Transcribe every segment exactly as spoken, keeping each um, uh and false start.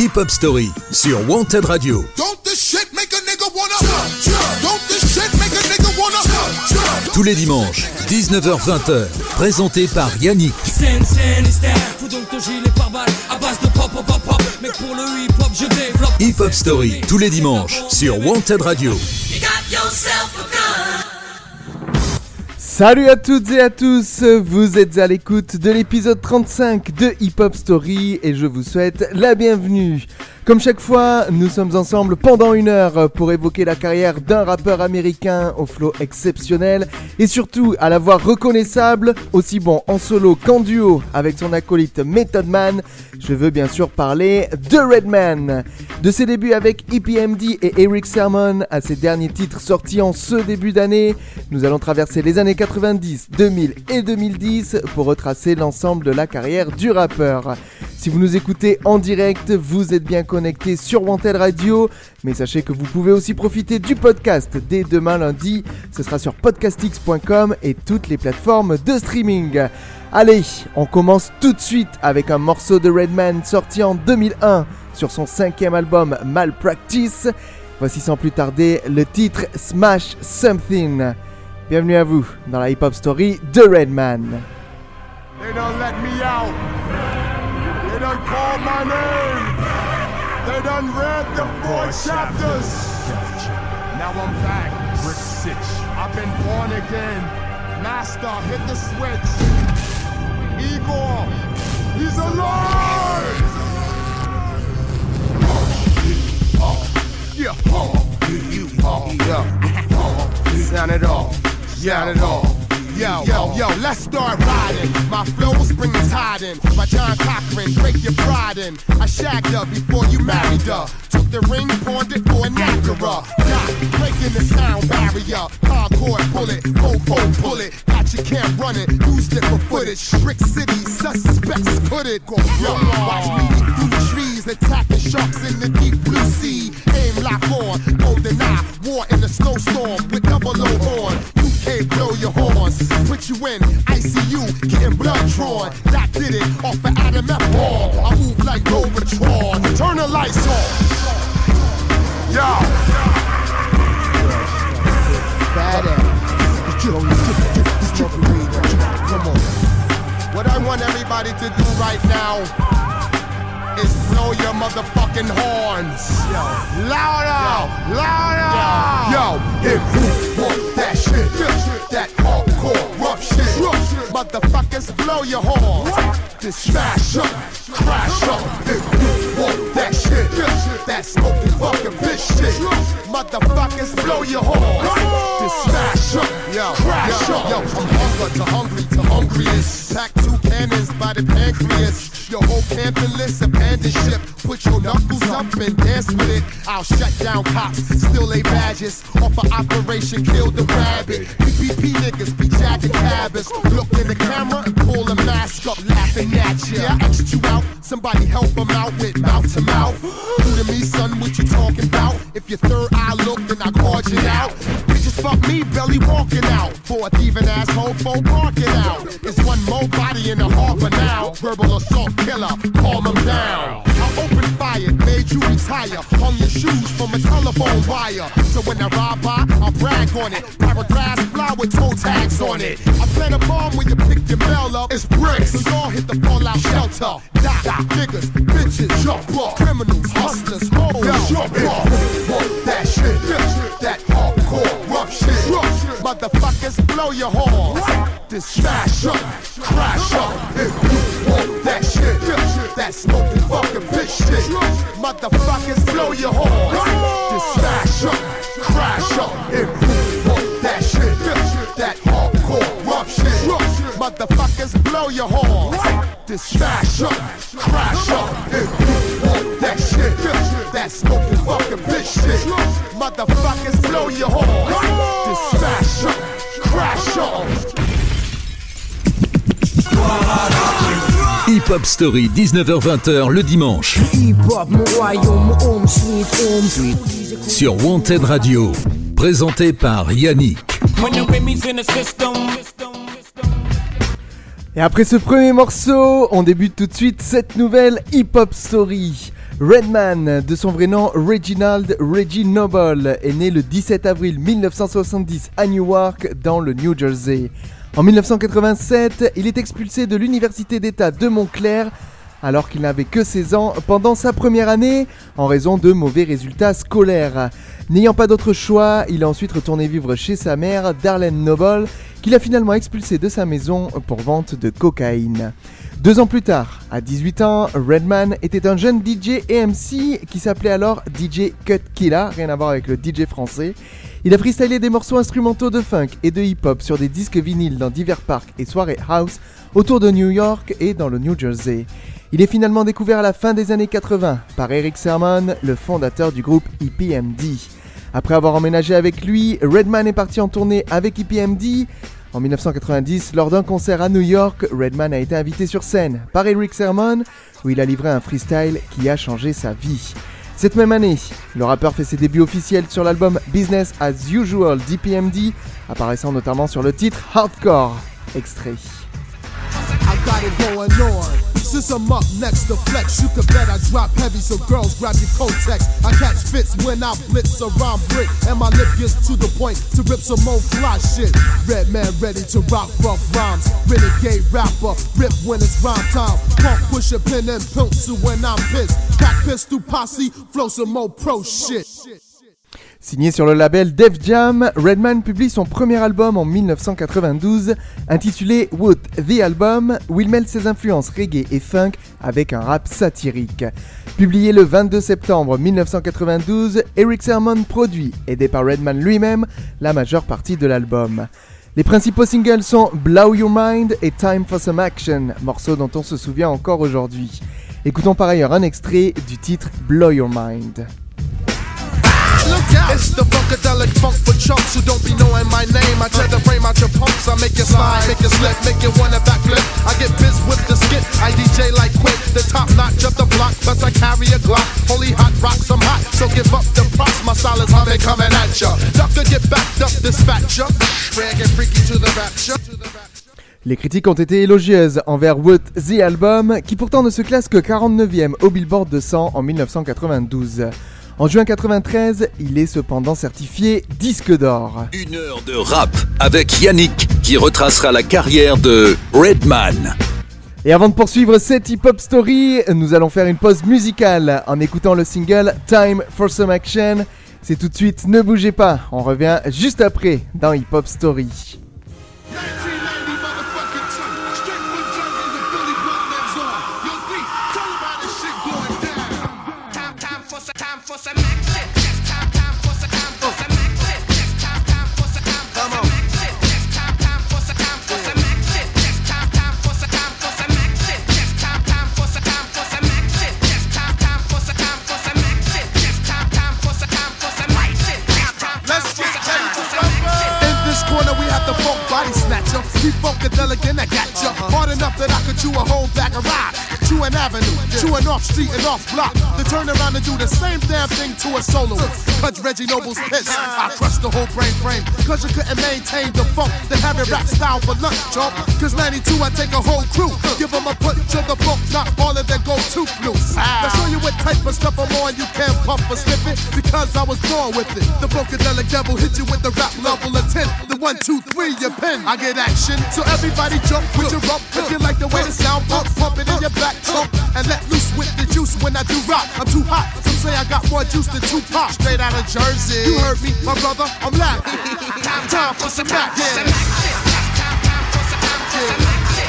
Hip Hop Story sur Wanted Radio. Tous les dimanches, dix-neuf heures vingt, présenté par Yannick. Hip Hop Story, tous les dimanches, sur Wanted Radio. Salut à toutes et à tous, vous êtes à l'écoute de l'épisode trente-cinq de Hip Hop Story et je vous souhaite la bienvenue. Comme chaque fois, nous sommes ensemble pendant une heure pour évoquer la carrière d'un rappeur américain au flow exceptionnel et surtout à la voix reconnaissable, aussi bon en solo qu'en duo avec son acolyte Method Man. Je veux bien sûr parler de Redman. De ses débuts avec E P M D et Eric Sermon à ses derniers titres sortis en ce début d'année, nous allons traverser les années quatre-vingt-dix, deux mille et deux mille dix pour retracer l'ensemble de la carrière du rappeur. Si vous nous écoutez en direct, vous êtes bien connecté sur Wanted Radio, mais sachez que vous pouvez aussi profiter du podcast dès demain lundi. Ce sera sur podcastx point com et toutes les plateformes de streaming. Allez, on commence tout de suite avec un morceau de Redman sorti en deux mille un sur son cinquième album Malpractice. Voici sans plus tarder le titre Smash Something. Bienvenue à vous dans la Hip Hop Story de Redman. They don't let me out. They done called my name. They done read the four chapters. Now I'm back. Brick six. I've been born again. Master, hit the switch. Igor, he's alive. Oh, yeah. Oh, you. Oh, yeah. Oh, sound it all. Sound it all. Yo, yo, yo, let's start riding. My flow will spring is hiding. My John Cochran, break your pride in. I shagged her before you married her. Took the ring, pawned it for an Acura. Got breaking the sound barrier. Hardcore bullet, fofo bullet. Got you can't run it, used it for footage. Brick City, suspects could it. Yo, watch me through the trees, attacking sharks in the deep blue sea. Aim lock on, golden eye, war in the snowstorm with double O on. U K blow your horns. Put you in I C U, getting blood drawn. That did it off of Adam F. Hall. I move like Robotron. Turn the lights on. Yo. Fat ass. Come on. What I want everybody to do right now is blow your motherfucking horns. Yo. Louder. Yo. Louder. Yo. If you want that shit, that hardcore rough shit, motherfuckers blow your horns. Just smash up, crash up. If you want that shit, that smoking fucking bitch shit, motherfuckers blow your horns. Just smash up, yo, crash yo, up. Yo, from hunger to hungry to hungriest. Pack two cannons by the pancreas. Your whole camping list abandoned ship. Put your knuckles up and dance with it. I'll shut down cops, still lay badges. Off of Operation Kill the Rabbit. P P P niggas be jacking cabins. Look in the camera and pull a mask up, laughing at ya. Yeah, I X'd you out, somebody help them out with mouth to mouth. Who to me, son, what you talking about? If your third eye look, then I called you out. Bitches fuck me, belly walking out. For a thieving asshole, folk parking out. There's one more body in the harbor now. Verbal assault killer, calm them down. I opened fire, made you retire. Hung your shoes from a telephone wire. So when I ride by, I'll brag on it. Paragraphs fly with toe tags on it. I plant a bomb when you pick your mail up. It's bricks, so y'all hit the fallout shelter. Die, die, niggas, bitches, jump up. Criminals, hustlers, hoes, jump up. Want that shit, that hardcore rough shit. Motherfuckers blow your horns. Just smash up, crash up. If you want that shit, that smoking fucking bitch shit, motherfuckers blow your horns. Just smash up, crash up. If you want that shit, that hardcore rough shit, motherfuckers blow your horns. Just smash up, crash up. If you want that shit, that smoking fucking bitch shit, motherfuckers blow your horns. Just smash up, crash up. Hip Hop Story, dix-neuf heures vingt le dimanche. Sur Wanted Radio, présenté par Yannick. Et après ce premier morceau, on débute tout de suite cette nouvelle Hip Hop Story. Redman, de son vrai nom Reginald Reggie Noble, est né le dix-sept avril mille neuf cent soixante-dix à Newark, dans le New Jersey. En mille neuf cent quatre-vingt-sept, il est expulsé de l'université d'État de Montclair alors qu'il n'avait que seize ans pendant sa première année en raison de mauvais résultats scolaires. N'ayant pas d'autre choix, il est ensuite retourné vivre chez sa mère, Darlene Noble, qu'il a finalement expulsé de sa maison pour vente de cocaïne. Deux ans plus tard, à dix-huit ans, Redman était un jeune D J et M C qui s'appelait alors D J Cut Killa, rien à voir avec le D J français. Il a freestylé des morceaux instrumentaux de funk et de hip-hop sur des disques vinyles dans divers parcs et soirées house autour de New York et dans le New Jersey. Il est finalement découvert à la fin des années quatre-vingts par Eric Sermon, le fondateur du groupe E P M D. Après avoir emménagé avec lui, Redman est parti en tournée avec E P M D. En mille neuf cent quatre-vingt-dix, lors d'un concert à New York, Redman a été invité sur scène par Eric Sermon, où il a livré un freestyle qui a changé sa vie. Cette même année, le rappeur fait ses débuts officiels sur l'album Business as Usual d'E P M D, apparaissant notamment sur le titre Hardcore. Extrait. I got it going on. Since I'm up next to flex, you could bet I drop heavy, so girls grab your Kotex. I catch fits when I blitz a rhyme brick, and my lip gets to the point to rip some more fly shit. Redman ready to rock rough rhymes. Renegade rapper, rip when it's rhyme time. Punk push a pin and pencil when I'm pissed. Crack pistol posse, flow some more pro shit. Signé sur le label Def Jam, Redman publie son premier album en mille neuf cent quatre-vingt-douze, intitulé What The Album, où il mêle ses influences reggae et funk avec un rap satirique. Publié le vingt-deux septembre mille neuf cent quatre-vingt-douze, Eric Sermon produit, aidé par Redman lui-même, la majeure partie de l'album. Les principaux singles sont Blow Your Mind et Time for Some Action, morceaux dont on se souvient encore aujourd'hui. Écoutons par ailleurs un extrait du titre Blow Your Mind. It's the funkadelic funk for chumps who don't be knowing my name. I tear the frame out your pumps, I make you slide, make you slip, make you wanna backflip. I get biz with the skit, I D J like Quick, the top notch of the block, plus I carry a Glock. Holy hot rocks, I'm hot, so give up the props, my style is humming, coming at ya. Duck could get backed up, dispatch ya. Rare get freaky to the rapture. Les critiques ont été élogieuses envers What The Album, qui pourtant ne se classe que quarante-neuvième au Billboard deux cents en mille neuf cent quatre-vingt-douze. En juin quatre-vingt-treize, il est cependant certifié disque d'or. Une heure de rap avec Yannick qui retracera la carrière de Redman. Et avant de poursuivre cette hip-hop story, nous allons faire une pause musicale en écoutant le single Time for Some Action. C'est tout de suite, ne bougez pas, on revient juste après dans Hip Hop Story. Keep funkadelic and I got ya. Hard enough that I could chew a whole bag of rock. Chew an avenue, chew an off street and off block. Then turn around and do the same damn thing to a soloist. Cause Reggie Noble's pissed. I crushed the whole brain frame. Cause you couldn't maintain the funk. Then have it rap style for lunch, chump. Cause ninety-two I take a whole crew. Give them a punch of the funk, not all of them go too loose. Now show you what type of stuff I'm on. You can't puff or slip it. Because I was born with it. The funkadelic devil hit you with the rap level of ten. The one, two, three, you pin. I get action. So everybody jump with your rump. If you like the way the sound pump, pump it in your back trunk. And let loose with the juice when I do rock. I'm too hot. Some say I got more juice than Tupac. Straight out of Jersey. You heard me, my brother. I'm laughing. time, time for some action. Yeah.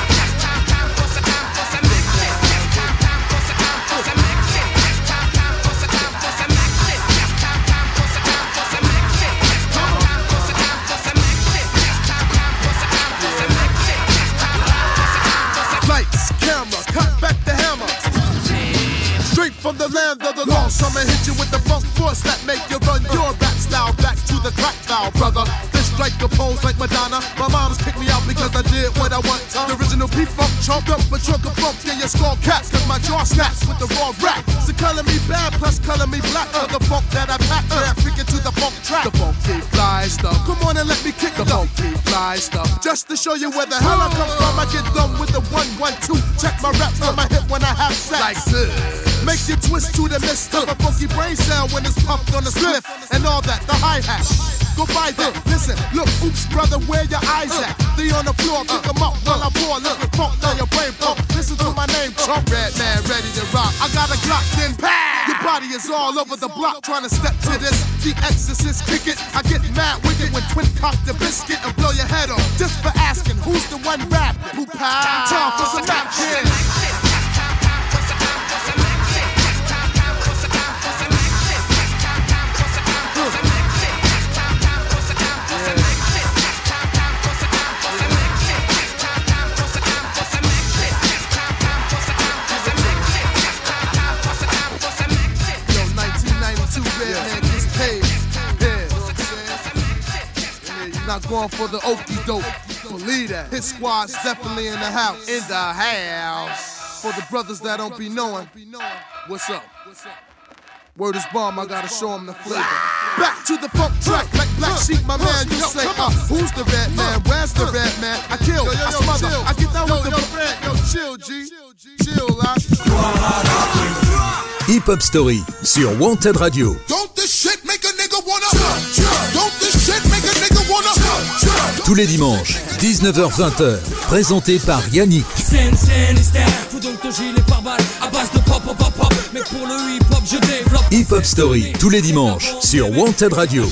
From the land of the lost, I'ma hit you with the funk force that make you run your rap style back to the crack style, brother. This strike the pose like Madonna. My mom's picked me out because I did what I want. The original P-Funk chunk up a trunk of funk in your skull caps. Cause my jaw snaps with the raw rap. So color me bad plus color me black. For the funk that I pack, yeah, freaking to the funk track. The funky fly stuff. Come on and let me kick the funky fly stuff. Just to show you where the hell I come from, I get done with the one, one, two. Check my raps on my hip when I have sex. Like this. make you twist to the mist. Have a funky brain cell when it's puffed on the spliff. And all that, the hi-hat. Go by that, listen, look, oops, brother, where your eyes at? They on the floor, pick them up while I pour a little funk down your brain pump. Listen to my name, Trump, Redman, ready to rock. I got a Glock, then pow! Your body is all over the block, trying to step to this. The Exorcist, kick it. I get mad wicked when twin cock the biscuit and blow your head off. Just for asking, who's the one rapping? Who pow? Time for some action. Not going for the okie doke. Believe that. His squad's definitely in the house. In the house. For the brothers that don't be knowing, what's up? Word is bomb, I gotta show them the flavor. Back to the funk track, like Black Sheep, my man, you say, uh, who's the red man? Where's the red man? I kill, yo, yo, I smother, chill. I get down yo, with yo, the red. Yo, chill, G. Chill, là. Hip Hop Story sur Wanted Radio. Don't this shit make a nigga wanna? Don't this shit make a nigga wanna? Tous les dimanches, dix-neuf heures vingt, présenté par Yannick. Hip Hop Story, tous les dimanches, sur Wanted Radio.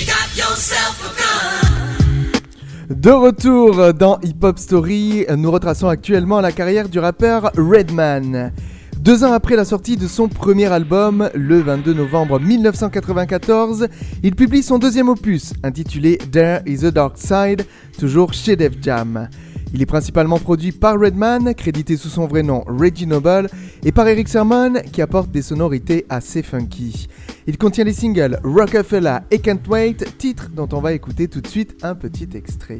De retour dans Hip Hop Story, nous retraçons actuellement la carrière du rappeur Redman. Deux ans après la sortie de son premier album, le vingt-deux novembre mille neuf cent quatre-vingt-quatorze, il publie son deuxième opus, intitulé There is a Dark Side, toujours chez Def Jam. Il est principalement produit par Redman, crédité sous son vrai nom Reggie Noble, et par Erick Sermon, qui apporte des sonorités assez funky. Il contient les singles Rockefeller et Can't Wait, titres dont on va écouter tout de suite un petit extrait.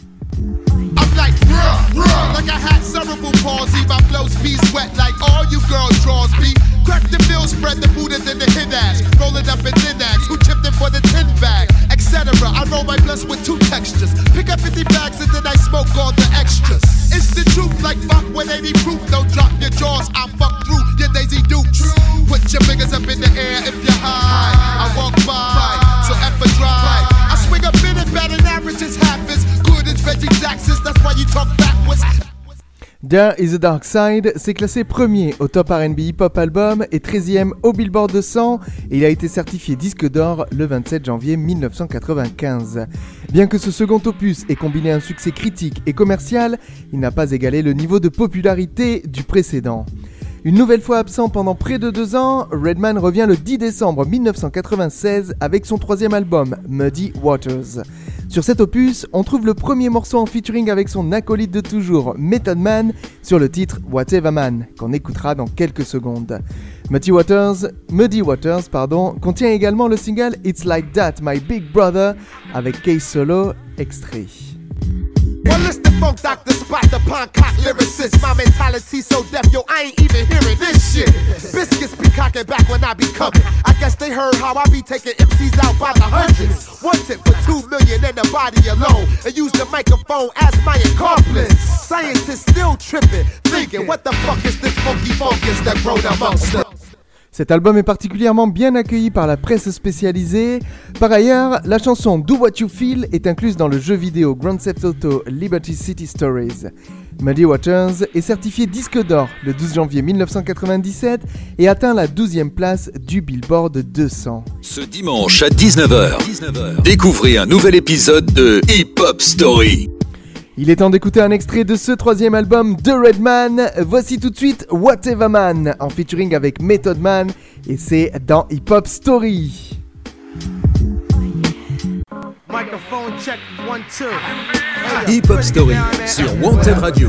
I'm like, bruh, bruh, like I had cerebral palsy. My flow's bees wet like all you girls draws be. Crack the bill, spread the Buddha, then the hit ass. Roll it up in thin ass, who tipped it for the tin bag, et cetera. I roll my blunts with two textures. Pick up fifty bags and then I smoke all the extras. It's the truth, like fuck with eighty proof. Don't drop your jaws, I fuck through your Daisy Dukes. Put your fingers up in the air if you're high. I walk by, so F a drive. I swing a bit and bad and average is half as good as Reggie Jackson's. That's why you talk backwards. There is a Dark Side s'est classé premier au Top R and B Hip Hop Album et treizième au Billboard deux cents et il a été certifié disque d'or le vingt-sept janvier mille neuf cent quatre-vingt-quinze. Bien que ce second opus ait combiné un succès critique et commercial, il n'a pas égalé le niveau de popularité du précédent. Une nouvelle fois absent pendant près de deux ans, Redman revient le dix décembre mille neuf cent quatre-vingt-seize avec son troisième album, Muddy Waters. Sur cet opus, on trouve le premier morceau en featuring avec son acolyte de toujours, Method Man, sur le titre Whatever Man, qu'on écoutera dans quelques secondes. Muddy Waters, Muddy Waters pardon, contient également le single It's Like That, My Big Brother, avec Case Solo, extrait. Well, it's the funk doctor spot, the pond cock lyricist. My mentality so deaf, yo, I ain't even hearing this shit. Biscuits be cocking back when I be coming. I guess they heard how I be taking M Cs out by the hundreds. One tip for two million in the body alone. And use the microphone as my accomplice. Scientists still tripping, thinking, what the fuck is this funky funkus that grown amongst us? Cet album est particulièrement bien accueilli par la presse spécialisée. Par ailleurs, la chanson Do What You Feel est incluse dans le jeu vidéo Grand Theft Auto Liberty City Stories. Muddy Waters est certifié disque d'or le douze janvier mille neuf cent quatre-vingt-dix-sept et atteint la douzième place du Billboard deux cents. Ce dimanche à dix-neuf heures, découvrez un nouvel épisode de Hip Hop Story. Il est temps d'écouter un extrait de ce troisième album de Redman. Voici tout de suite Whatever Man en featuring avec Method Man et c'est dans Hip Hop Story. Hip Hop Story sur Wanted Radio.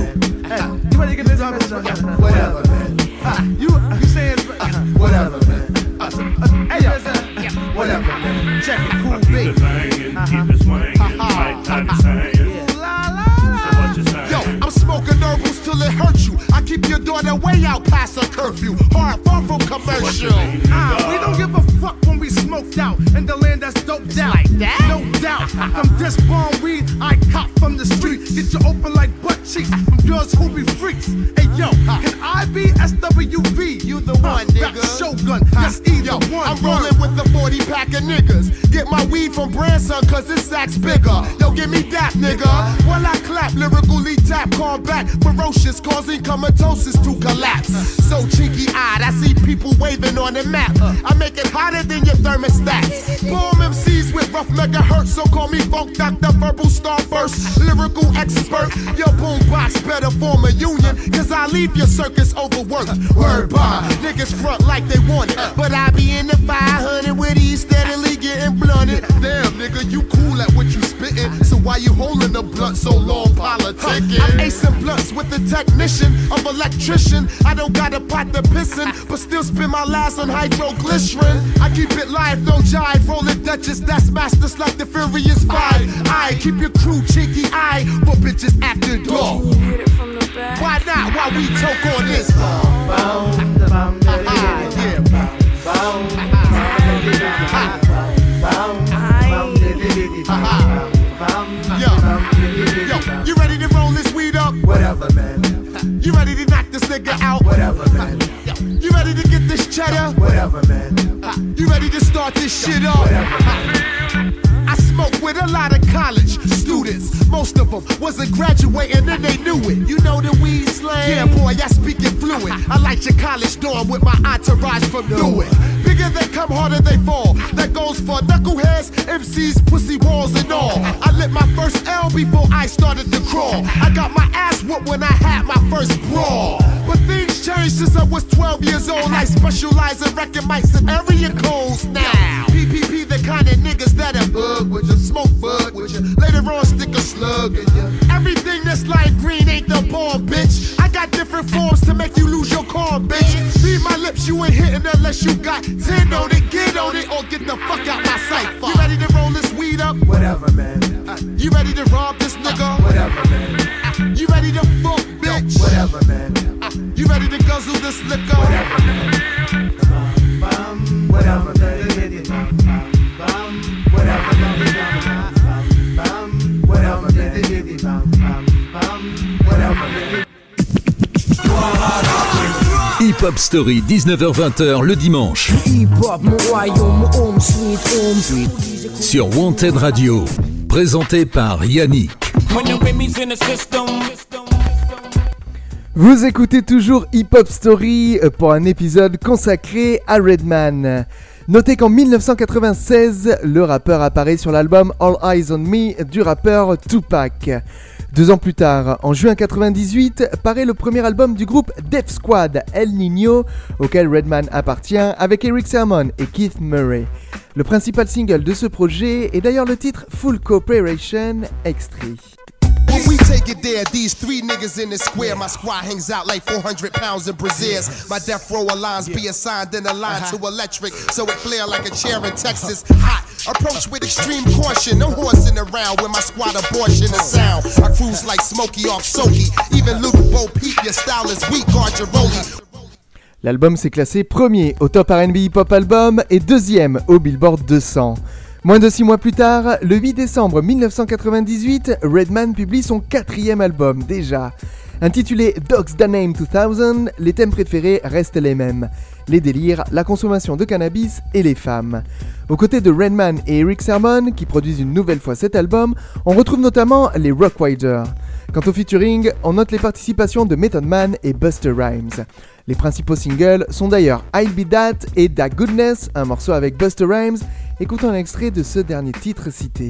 I'm smoking herbals till it hurts you. I keep your daughter way out past her curfew. Hard, far from commercial. Ah, we don't give a fuck when we smoked out in the land that's doped out. Like that? No doubt. From this bomb weed I cop from the street. Get you open like butt cheeks from girls who be freaks. Hey yo, can I be S W V? You the one, nigga. gun. Yes, either one. I'm rolling with the forty pack of niggas. Get my weed from Branson, cause this sack's bigger. Yo, give me that, nigga. While I clap, lyrically tap, combat, ferocious, causing comatosis to collapse. So cheeky eyed, I see people waving on the map. I make it hotter than your thermostats. Bomb M Cs with rough megahertz, so call me Funk Doctor, verbal starburst, lyrical expert. Your boombox better form a union, cause I leave your circus overworked. Word bond, niggas front like they want it, but I be in the five hundred with these steadily getting blunted. Damn, nigga, you cool at what you spittin', so why you holding the blunt so long politicking? I'm acing blunts with the technician of electrician. I don't got a pot to pissin', but still spend my last on hydroglycerin. I keep it live, no jive, rolling Duchess, that's masters like the Furious Five. I keep your crew cheeky eye, for bitches after dark. Why not? Why we talk on this? Yo, you ready to roll this weed up? Whatever, man. You ready to knock this nigga out? Whatever, man. You ready to get this cheddar? Whatever, man. You ready to start this shit up? Whatever, man. I smoke with a lot of college students. Most of them wasn't graduating and they knew it. You know the weed slang? Yeah, boy, I speak it fluid. I like your college dorm with my entourage from Newark. Bigger they come, harder they fall. That goes for knuckleheads, M Cs, pussy walls and all. I lit my first L before I started to crawl. I got my ass whooped when I had my first brawl. But things changed since I was twelve years old. I specialize in wrecking mics and area codes now. P P P, the kind of niggas that'll bug with you, smoke bug with you. Later on, stick a slug in you. Everything that's light green ain't the bomb, bitch. I got different forms to make you lose your calm, bitch. Read my lips, you ain't hitting unless you got ten on it. Get on it or get the fuck out my sight. You ready to roll this weed up? Whatever, man. Uh, you ready to rob this nigga? Whatever, man. Uh, you ready to fuck, bitch? Whatever, man. Uh, you ready to guzzle this liquor? Whatever, man. Whatever, man. Whatever, man. Whatever, man. Whatever, man. Hip Hop Story, dix-neuf heures vingt le dimanche. Sur Wanted Radio, présenté par Yannick. Vous écoutez toujours Hip Hop Story pour un épisode consacré à Redman. Notez qu'en dix-neuf cent quatre-vingt-seize, le rappeur apparaît sur l'album All Eyes on Me du rappeur Tupac. Deux ans plus tard, en juin quatre-vingt-dix-huit, paraît le premier album du groupe Def Squad, El Niño, auquel Redman appartient avec Eric Sermon et Keith Murray. Le principal single de ce projet est d'ailleurs le titre Full Cooperation, extrait. When we take it there, these three niggas in the square. My squad hangs out like four hundred pounds in brassieres. My death row lines be assigned in a line to electric, so it flare like a chair in Texas. Hot, approach with extreme caution. No horsing around when my squad abortion is sound. I cruise like Smokey off Soaky. Even Luke Bo Peep, your style is weak, guard your rollie. L'album s'est classé premier au Top R and B Hip Hop Album et deuxième au Billboard deux cents. Moins de six mois plus tard, le huit décembre dix-neuf cent quatre-vingt-dix-huit, Redman publie son quatrième album déjà. Intitulé Dogs Da Name deux mille, les thèmes préférés restent les mêmes. Les délires, la consommation de cannabis et les femmes. Aux côtés de Redman et Eric Sermon, qui produisent une nouvelle fois cet album, on retrouve notamment les Rock Riders. Quant au featuring, on note les participations de Method Man et Busta Rhymes. Les principaux singles sont d'ailleurs I'll Be That et Da Goodness, un morceau avec Busta Rhymes. Écoutons un extrait de ce dernier titre cité.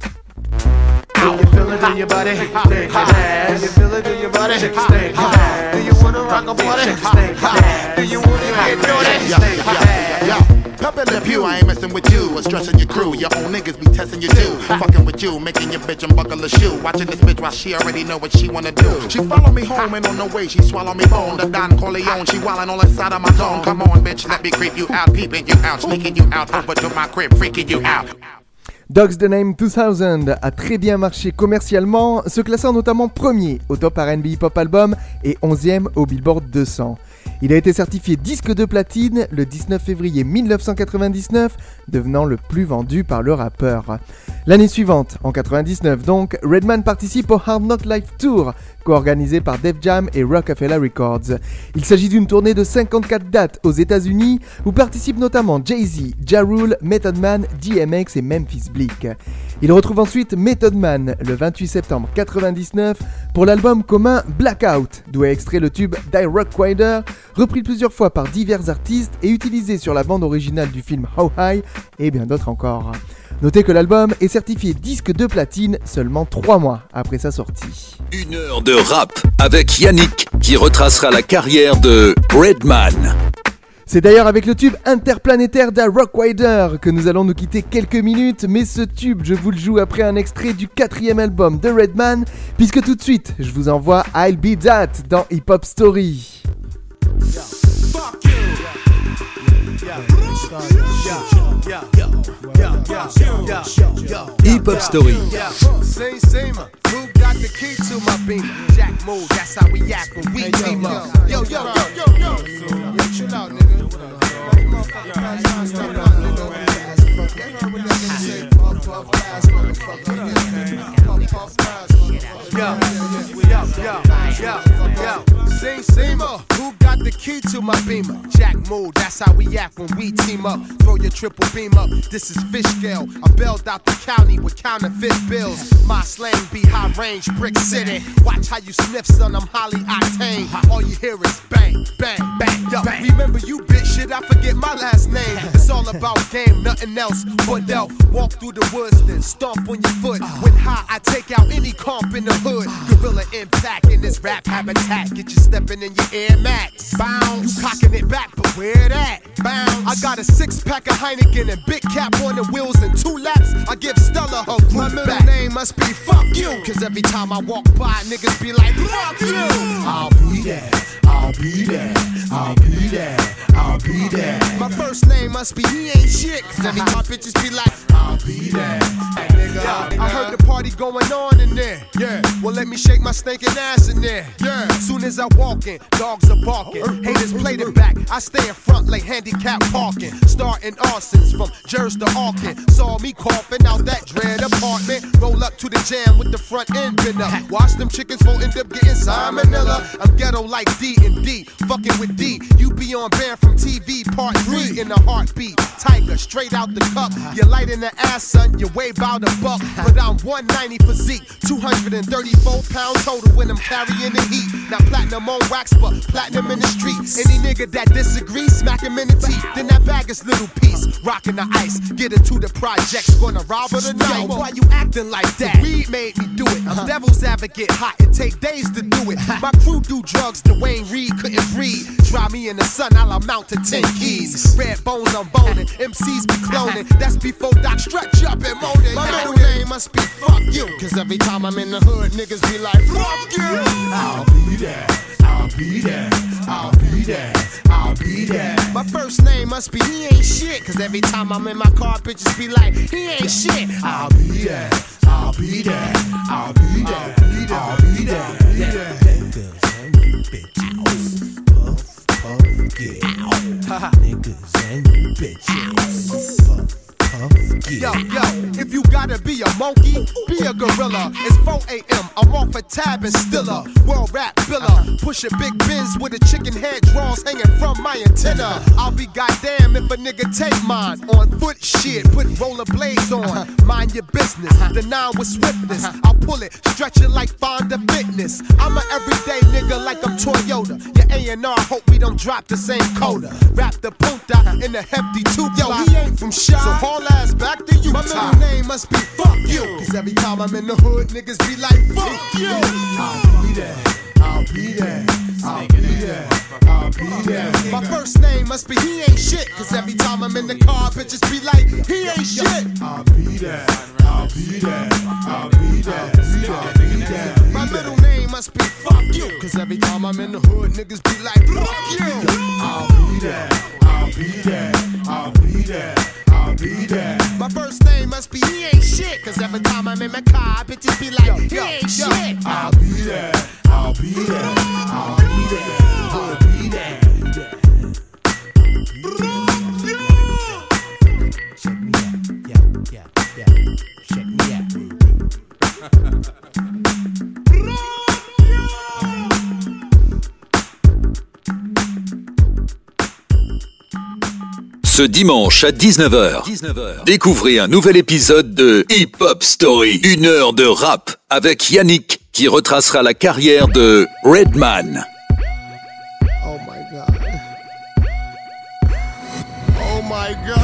Do you feel it in your body? Shake your ass. Do you feel it in your body? Shake your ass. Do you wanna rock a body? Shake your ass. Do you wanna get dirty? Shake your ass. Pep in the pew, I ain't messing with you or stressing your crew. Your own niggas be testing you too. Fucking with you, making your bitch unbuckle a shoe. Watching this bitch while she already know what she wanna do. She follow me home and on the way she swallow me bone. The Don Corleone, she wildin' all inside of my zone. Come on, bitch, let me creep you out, peeping you out, sneaking you out, over to my crib, freaking you out. Dogs Da Name deux mille a très bien marché commercialement, se classant notamment premier au Top R and B Hip Hop Album et onzième au Billboard deux cents. Il a été certifié disque de platine le dix-neuf février dix-neuf cent quatre-vingt-dix-neuf, devenant le plus vendu par le rappeur. L'année suivante, en quatre-vingt-dix-neuf donc, Redman participe au Hard Knock Life Tour, co-organisée par Def Jam et Rockefeller Records. Il s'agit d'une tournée de cinquante-quatre dates aux États-Unis où participent notamment Jay-Z, Ja Rule, Method Man, D M X et Memphis Bleek. Il retrouve ensuite Method Man le vingt-huit septembre quatre-vingt-dix-neuf pour l'album commun Blackout, d'où est extrait le tube Die Rock Rider, repris plusieurs fois par divers artistes et utilisé sur la bande originale du film How High et bien d'autres encore. Notez que l'album est certifié disque de platine seulement trois mois après sa sortie. Une heure de rap avec Yannick qui retracera la carrière de Redman. C'est d'ailleurs avec le tube interplanétaire d'A Rock Rider que nous allons nous quitter quelques minutes, mais ce tube, je vous le joue après un extrait du quatrième album de Redman, puisque tout de suite, je vous envoie I'll Be That dans Hip Hop Story. Hip Hop Story. Who got the key to my beam? Jack move, that's how we act when we team up. Yo, yo, yo, yo, yo. Yo, chill out, nigga. Motherfucker, pass on, step out, nigga. You heard what that nigga say? Puff, puff, pass, motherfucker. Puff, puff, pass, motherfucker. Yo, yo, yo, yo, yo. Sing, Seamer, who got the key to my beamer? Jack move, that's how we act when we team up. Throw your triple beam up, this is fish scale. I bailed out the county with counterfeit bills. My slang be high range, brick city. Watch how you sniff, son, I'm highly octane. All you hear is bang, bang, bang. Yo, remember you bitch shit, I forget my last name. It's all about game, nothing else but dealt. Walk through the woods, then stomp on your foot. When high, I take out any comp in the hood. Gorilla impact in this rap habitat. Get you stepping in your Air Max. Bounce, you cocking it back, but where that? Bounce. I got a six pack of Heineken and big cap on the wheels and two laps. I give Stella her group. My middle back. Name must be fuck you. Cause every time I walk by, niggas be like, fuck you. I'll be there, I'll be there, I'll be there, I'll be there. My first name must be he ain't shit. Cause every time bitches be like, I'll be there. Hey, nigga, yeah, I heard the party going on in there. Yeah, well let me shake my stinking ass in there. Yeah, soon as I walk in, dogs are barking. Haters played it back, I stay in front like handicap parking. Starting arsons from Jersey to Auckland. Saw me coughing out that dread apartment. Roll up to the jam with the front end bent up. Watch them chickens for end up getting salmonella. I'm ghetto like D and D, fucking with D. You be on Bear from T V part three in a heartbeat. Tiger straight out the cup. You light in the ass, son, you weigh about a buck. But I'm one ninety physique, two hundred thirty-four pounds total when I'm carrying the heat. Now platinum on wax, but platinum in the streets. Any nigga that disagrees, smack him in the teeth. Then that bag is little piece, rocking the ice. Get into the projects, gonna rob her tonight. Yo, why you acting like that? Weed made me do it. I'm devil's advocate, hot, it take days to do it. My crew do drugs, Dwayne Reed couldn't breathe. Try me in the sun, I'll amount to ten keys. Red bones, I'm boning, M Cs be cloning. That's before Doc stretch up and moaning. My middle name must be fuck you. Cause every time I'm in the hood, niggas be like, fuck you. I'll be there, I'll be there, I'll be there, I'll be there. My first name must be he ain't shit. Cause every time I'm in my car, bitches be like, he ain't shit. I'll be there, I'll be there, I'll be there, I'll be there, I'll be there. Niggas and bitches, puff, puff, yeah. Niggas and bitches, puff. Yo, yo, if you gotta be a monkey, be a gorilla. It's four a.m., I'm off a tab and stiller. World rap biller, push a big Benz with a chicken head draws hanging from my antenna. I'll be goddamn if a nigga take mine. On foot shit, put roller blades on. Mind your business, the nine with swiftness. I'll pull it, stretch it like Fonda Fitness. I'm an everyday nigga like I'm Toyota. Your A and R hope we don't drop the same coda. Rap the punta in a hefty two. Yo, he ain't from Shy, so haul ass back to Utah. My middle name must be fuck you. Cause every time I'm in the hood, niggas be like, fuck you. I'll be there, I'll be there, I'll be there, I'll be there. My first name must be he ain't shit. Cause every time I'm in the car, bitches be like, he ain't shit. I'll be there, I'll be there, I'll be there, I'll be there. My middle name must be fuck you. Cause every time I'm in the hood, niggas be like, fuck you. I'll be there, I'll be there, I'll be there, I'll be there. My first name must be he ain't shit. Cause every time I'm in my car, bitches be like, he ain't shit. I'll be there, I'll be there, I'll be there, I'll be there. Check me out, yeah, yeah, yeah. Check me out. Ce dimanche à dix-neuf heures, découvrez un nouvel épisode de Hip Hop Story. Une heure de rap avec Yannick qui retracera la carrière de Redman. Oh my God. Oh my God.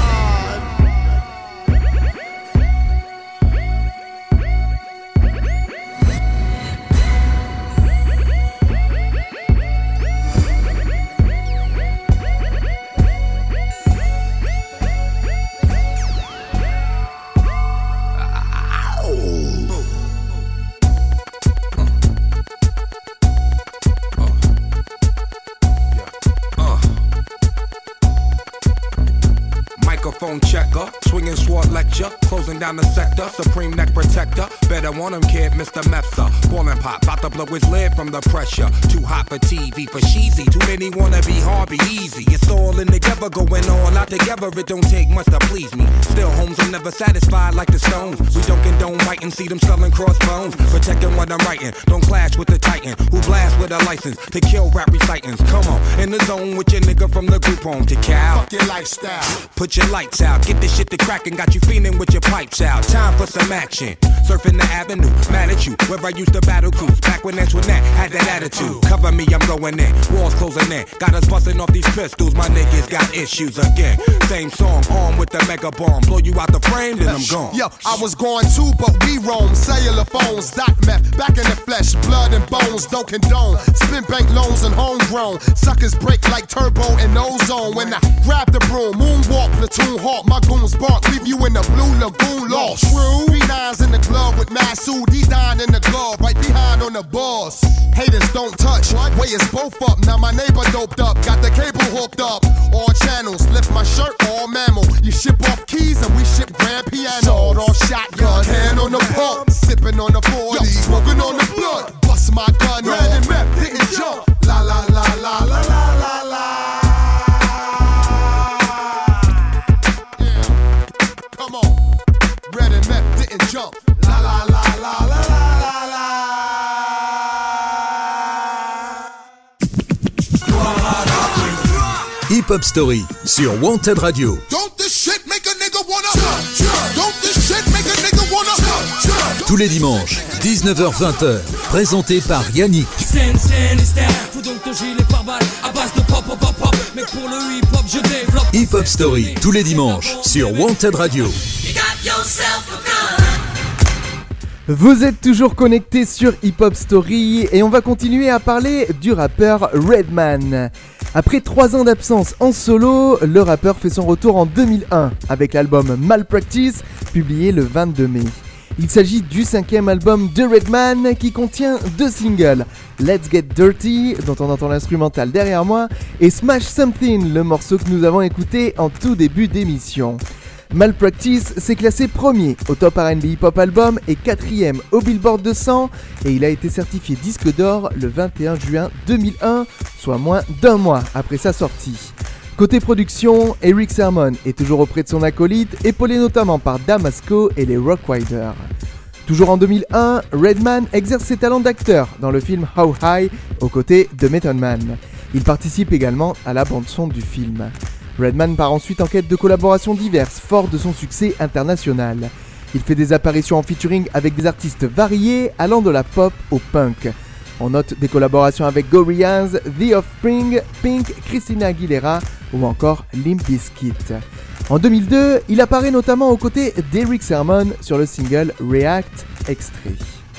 Microphone checker, swinging sword lecture, closing down the sector, supreme neck protector. Better want him, kid, Mister Mepsa. Ballin' pop, bout to blow his lid from the pressure. Too hot for T V, for cheesy. Too many wanna be hard, be easy. It's all in together, going all out together. It don't take much to please me. Still, homes are never satisfied like the Stones. We don't condone writing, see them selling crossbones. Protecting what I'm writing, don't clash with the Titan who blast with a license to kill rap recitants. Come on, in the zone with your nigga from the group home to Cal. Fuck your lifestyle. Put your lights out, get this shit to crackin', got you feeling with your pipes out. Time for some action. Surfing the avenue, mad at you, where I used to battle cruise. Back when Antoinette had that attitude. Cover me, I'm going in, walls closing in. Got us busting off these pistols, my niggas got issues again. Same song, armed with the mega bomb. Blow you out the frame, then I'm gone. Yo, I was going too, but we roam. Cellular phones, doc meth, back in the flesh, blood and bones, don't condone. Spin bank loans and homegrown. Suckers break like turbo and ozone. When I grab the broom, moonwalk, platoon hawk, my goons bark, leave you in the blue lagoon lost. True. Three nines in the glove with Masood, D nine in the glove, right behind on the boss. Haters don't touch, way is both up. Now my neighbor doped up, got the cable hooked up. All channels, lift my shirt, all mammal. You ship off keys and we ship grand piano. Sawed off shotgun, hand on the pump, sipping on the forty, smoking on the blood. Bust my gun, red and map, didn't jump. La la la la la la la la. Come on, red and meth didn't jump. La la la la la la la la. Hip Hop Story sur Wanted Radio. Don't this shit make a nigga wanna jump, jump. Don't this shit make a nigga wanna jump, jump. Tous les dimanches, dix-neuf heures vingt, présenté par Yannick. Scène, scène, scène, faut donc ton gilet pare-balles à base de pop, pop, pop, pop. Mais pour le hip-hop, je développe. Hip Hop Story, tous les dimanches, sur Wanted Radio. You got yourself a gun. Vous êtes toujours connectés sur Hip Hop Story et on va continuer à parler du rappeur Redman. Après trois ans d'absence en solo, le rappeur fait son retour en deux mille un avec l'album Malpractice, publié le vingt-deux mai. Il s'agit du cinquième album de Redman qui contient deux singles, Let's Get Dirty, dont on entend l'instrumental derrière moi, et Smash Something, le morceau que nous avons écouté en tout début d'émission. Malpractice s'est classé premier au Top R and B Hip Hop Album et quatrième au Billboard deux cents et il a été certifié disque d'or le vingt et un juin deux mille un, soit moins d'un mois après sa sortie. Côté production, Eric Sermon est toujours auprès de son acolyte, épaulé notamment par Damasco et les Rock Riders. Toujours en deux mille un, Redman exerce ses talents d'acteur dans le film How High aux côtés de Method Man. Il participe également à la bande-son du film. Redman part ensuite en quête de collaborations diverses, fort de son succès international. Il fait des apparitions en featuring avec des artistes variés, allant de la pop au punk. On note des collaborations avec Gorillaz, The Offspring, Pink, Christina Aguilera ou encore Limp Bizkit. En deux mille deux, il apparaît notamment aux côtés d'Eric Sermon sur le single React Extrait.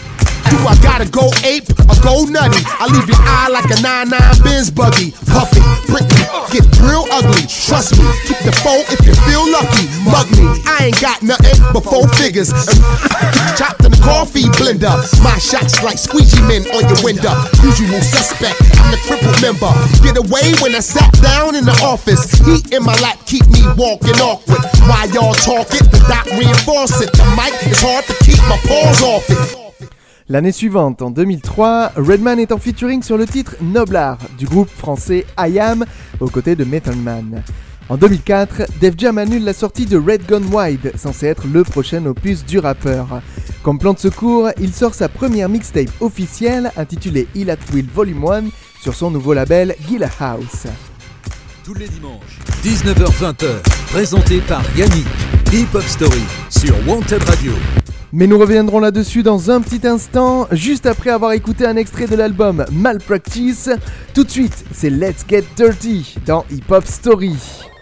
Do I gotta go ape or go nutty? I leave your eye like a nine nine Benz buggy. Puffy, Britney, get real ugly. Trust me, keep the foe if you feel lucky. Mug me, I ain't got nothing but four figures. Chopped in the coffee blender. My shots like squeegee men on your window. Usual suspect, I'm the crippled member. Get away when I sat down in the office. Heat in my lap keep me walking awkward. While y'all talk it, the doc reinforce it. The mic is hard to keep my paws off it. L'année suivante, en deux mille trois, Redman est en featuring sur le titre Noblar du groupe français I Am aux côtés de Method Man. En deux mille quatre, Def Jam annule la sortie de Red Gun Wide, censé être le prochain opus du rappeur. Comme plan de secours, il sort sa première mixtape officielle intitulée Ill at Will Volume un sur son nouveau label Gilla House. tous les dimanches, dix-neuf heures vingt, présenté par Yannick. Hip Hop Story sur Wanted Radio. Mais nous reviendrons là-dessus dans un petit instant, juste après avoir écouté un extrait de l'album Malpractice. Tout de suite, c'est Let's Get Dirty dans Hip Hop Story.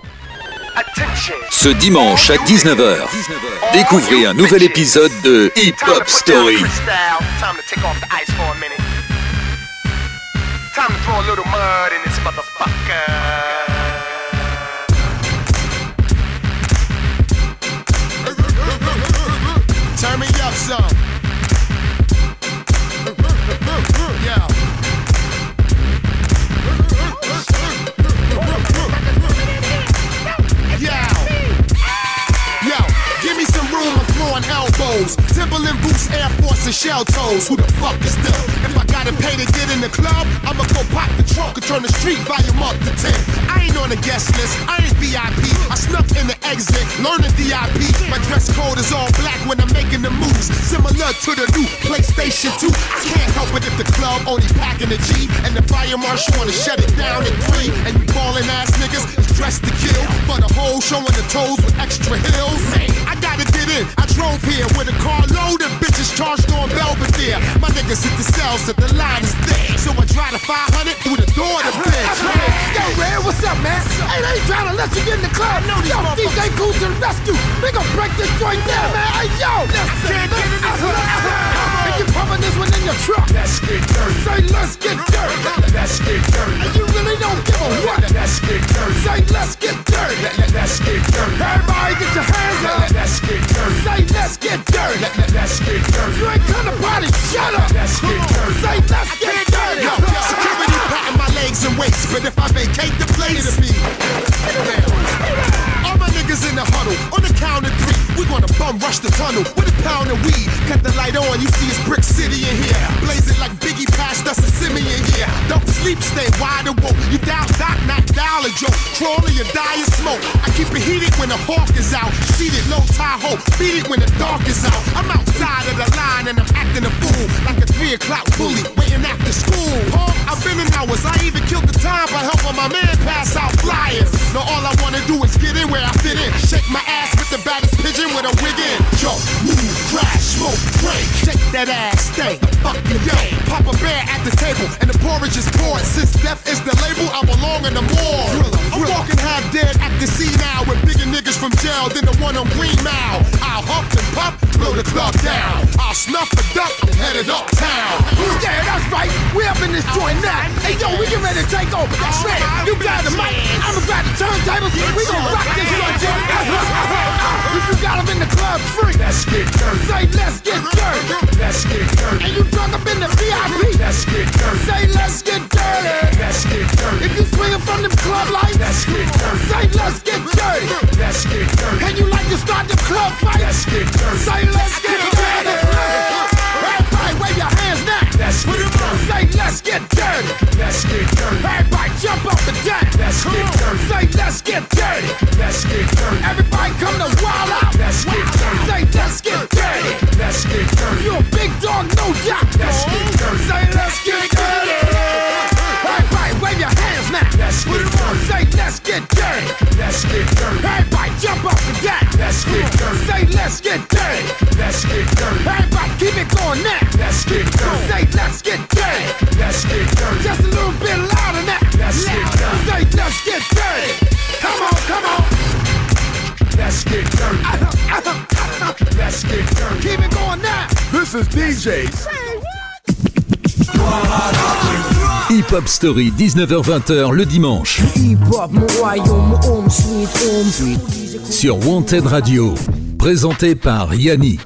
Ce dimanche à dix-neuf heures, découvrez un nouvel épisode de Hip Hop Story. Time to throw a little mud in this motherfucker. Turn me up some. Yeah. Yeah. Yo, give me some room, I'm throwing elbows. Timberland boots, Air Force and shell toes. Who the fuck is this? If I gotta pay to get in the club, I'ma go pop the trunk and turn the street volume up to ten. I ain't on the guest list, I ain't V I P. I snuck in the exit, learning D I P. My dress code is all black when I'm making the moves, similar to the new PlayStation two. I can't help it if the club only packing a G, and the fire marshal wanna shut it down at three. And you ballin' ass niggas is dressed to kill, for the whole showing the toes with extra heels. Hey, I gotta get in, I drove here with a car loaded, bitches charged on Belvedere. My niggas hit the cells, said the line is thick, so I drive the five hundred through the door to bitch. Yo, Red, what's up, man? Hey, they ain't trying to let you get in the club. No, yo, D J Cool to the rescue. We gon' break this joint down, man. Hey, yo. Can't get it. And you pumping this one in your truck. Let's get dirty. Say, let's get dirty. Let's get dirty. And you really don't give a what. Let's get dirty. Say, let's get dirty. Let's get dirty. Everybody get your hands up. Let's get dirty. Say, let's get dirty. Let's get dirty. You ain't come to party, shut up. Let's get dirty. Say, let's get dirty. Yo, security patting my legs and waist, but if I vacate the place, it'll be. All my niggas in the huddle, on the count of three, we gonna bum rush the tunnel with a pound of weed. Cut the light on, you see it's Brick City in here. Blazing like Biggie passed us a Simeon here. Don't sleep, stay wide awoke. You down, doc, not dial a joke. Crawling, you die in smoke. I keep it heated when the hawk is out. Seated low Tahoe, beat it when the dark is out. I'm outside of the line and I'm acting a fool, like a three o'clock bully waiting after school. Huh? I've been in hours, I even killed the time by helping my man pass out flyers. Now all I wanna do is get in where I fit in. Shake my ass with the baddest pigeon with a wig in. Jump, move, crash, smoke, drink. Shake that ass, stay the fucking yo. Papa Bear at the table and the porridge is poured. Since death is the label, I belong in the morgue. I'm walking half dead at the sea now with bigger niggas from jail than the one on Green Mile. I'll huff and puff, blow the club down. I'll snuff a duck and headed uptown. Yeah, that's right. We up in this joint now. Hey, yo, we get ready to take over. Shred, you grab the mic. I'ma grab the turntables. We gon' rock this joint, Jim. If you got them in the club free, let's get dirty. Say, let's get dirty. Let's get dirty. And you drunk up in the V I P, let's get dirty. Say, let's get dirty. Let's get dirty. If you swinging from them club lights, let's get dirty. Say, let's get dirty. Let's get dirty. And you like to start the club fight, let's get dirty. Say, let's get dirty. Everybody wave your hands now. Let's get dirty. Say, let's get dirty. Let's get dirty. Everybody jump up and down. Let's get dirty. Say, let's get dirty. Let's get dirty. Everybody come to wild out. Let's get dirty. Say, let's get dirty. Let's get dirty. You a big dog, no doubt. Let's get dirty. Say, let's get dirty. Everybody wave your hands now. Let's get dirty. Say, let's get dirty. Let's get dirty. Everybody jump up and down. Let's get dirty. Say, let's get dirty. Let's get dirty. Everybody keep it going now. Let's get dirty. Say, let's get dirty. Let's get dirty. Just a little bit louder now. Let's get dirty. Say, let's get dirty. Come on, come on. Let's get dirty. Let's get dirty. Keep it going now. This is D J's. Hip Hop Story, dix-neuf heures vingt le dimanche. Sur Wanted Radio. Présenté par Yannick.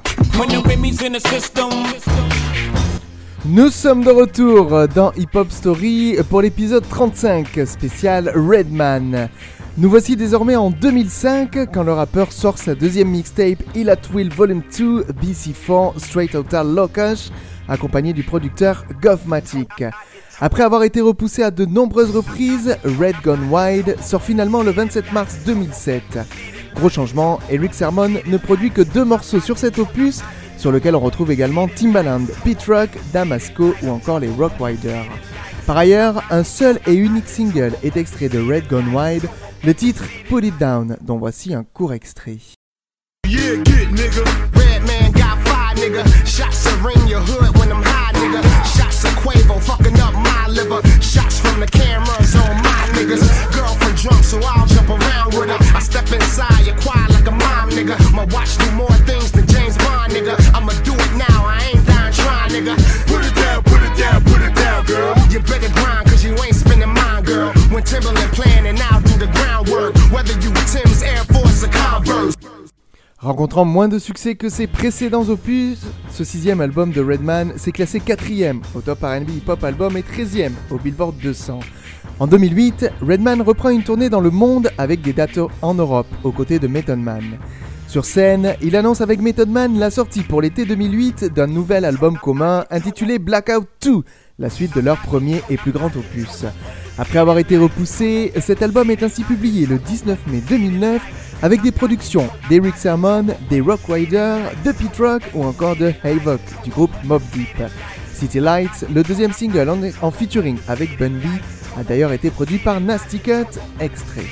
Nous sommes de retour dans Hip Hop Story pour l'épisode trente-cinq, spécial Redman. Nous voici désormais en deux mille cinq quand le rappeur sort sa deuxième mixtape Ill at Will Volume deux B C quatre Straight Outta Locash, accompagné du producteur Govmatic. Après avoir été repoussé à de nombreuses reprises, Red Gone Wide sort finalement le vingt-sept mars deux mille sept. Gros changement, Erick Sermon ne produit que deux morceaux sur cet opus, sur lequel on retrouve également Timbaland, Pete Rock, Damasco ou encore les Rock Riders. Par ailleurs, un seul et unique single est extrait de Red Gone Wild, le titre Put It Down, dont voici un court extrait. Yeah, get nigga. Red man got five nigga. Shots that ring your hood when I'm high nigga. Shots of Quavo fucking up my liver. Shots from the cameras on my niggas. Girlfriend drunk so I'll jump around with her. I step inside your quiet like a mom nigga. My watch do more things than James Bond nigga. I'ma do it now, I ain't dying trying nigga. Put it down, put it down, put it down girl. You better grind cause you ain't spending mine girl. When Timberland playing and I'll do the groundwork. Whether you Tim's Air Force or Converse. Rencontrant moins de succès que ses précédents opus, ce sixième album de Redman s'est classé quatrième au top R and B hip-hop album et treizième au Billboard deux cents. En deux mille huit, Redman reprend une tournée dans le monde avec des dates en Europe, aux côtés de Method Man. Sur scène, il annonce avec Method Man la sortie pour l'été deux mille huit d'un nouvel album commun intitulé Blackout deux, la suite de leur premier et plus grand opus. Après avoir été repoussé, cet album est ainsi publié le dix-neuf mai deux mille neuf avec des productions d'Erick Sermon, des Rock Riders, de Pete Rock ou encore de Havoc du groupe Mobb Deep. City Lights, le deuxième single en, en featuring avec Bun B, a d'ailleurs été produit par Nasty Cut, extrait.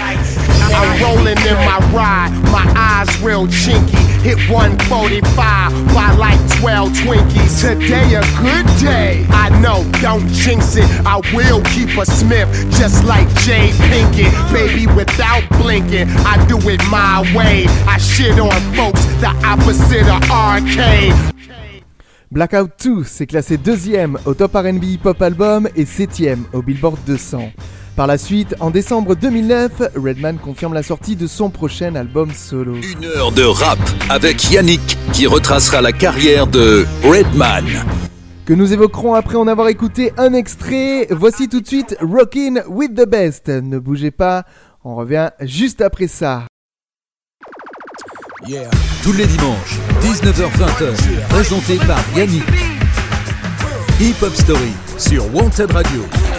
I'm rolling in my ride, my eyes real chinky. Hit one forty-five, buy like twelve Twinkies. Today a good day, I know, don't jinx it. I will keep a Smith, just like Jay Pinkett. Baby, without blinking, I do it my way. I shit on folks, the opposite of arcade. Blackout deux s'est classé deuxième au top R and B hip-hop album et septième au Billboard deux cents. Par la suite, en décembre deux mille neuf, Redman confirme la sortie de son prochain album solo. Une heure de rap avec Yannick qui retracera la carrière de Redman. Que nous évoquerons après en avoir écouté un extrait. Voici tout de suite Rockin' with the Best. Ne bougez pas, on revient juste après ça. Yeah. Tous les dimanches, dix-neuf heures vingt, présenté par Yannick. Hip Hop Story sur Wanted Radio.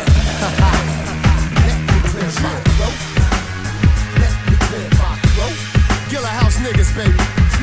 Niggas, baby.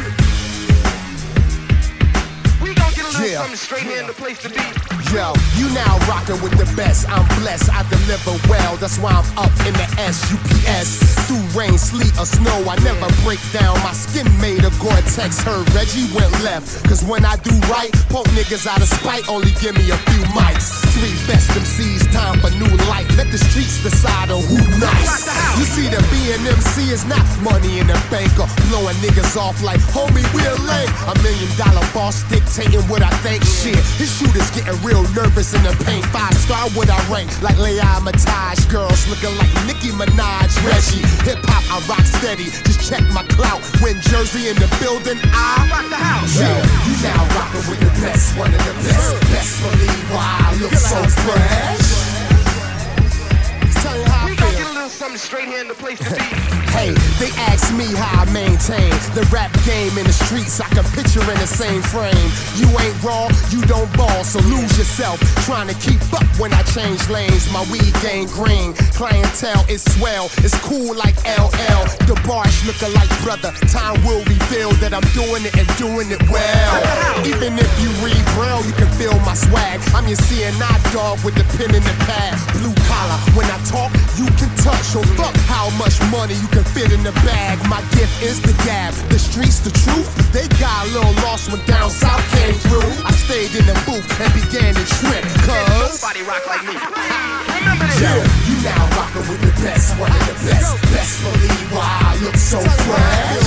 We gon' get a little yeah. something straight here in the place to be. Yo, you now rockin' with the best. I'm blessed, I deliver well. That's why I'm up in the S U P S. Through rain, sleet, or snow, I never break down. My skin made of Gore-Tex. Heard Reggie went left. Cause when I do right, poke niggas out of spite. Only give me a few mics. Three best M Cs, time for new life. Let the streets decide on who nice. You see, the B and M C is not money in the bank or blowing niggas off like, homie, we're late. A million dollar boss dictating what I think. Shit, his shooters getting real nervous in the paint. Five star what I rank like Leah Mataj. Girls looking like Nicki Minaj. Reggie, hip hop, I rock steady. Just check my clout. When Jersey in the building, I rock the house. Yeah, you now rockin' with the best, one of the best. Best believe why I look so fresh. Tell you how I feel. Something straight here in the place to be. Hey, they ask me how I maintain the rap game in the streets. I can picture in the same frame. You ain't raw, you don't ball, so lose yourself. Trying to keep up when I change lanes. My weed game green, clientele is swell. It's cool like L L. The bars looking like brother. Time will reveal that I'm doing it and doing it well. Even if you read Braille, you can feel my swag. I'm your C N I dog with the pen in the pad. Blue collar, when I talk, you can touch. So fuck how much money you can fit in the bag. My gift is the gab. The streets, the truth. They got a little lost when down south came through. I stayed in the booth and began to trip. Cause nobody rock like me. Remember this. Yeah, you now rockin' with the best. One of the best. Best believe why I look so fresh.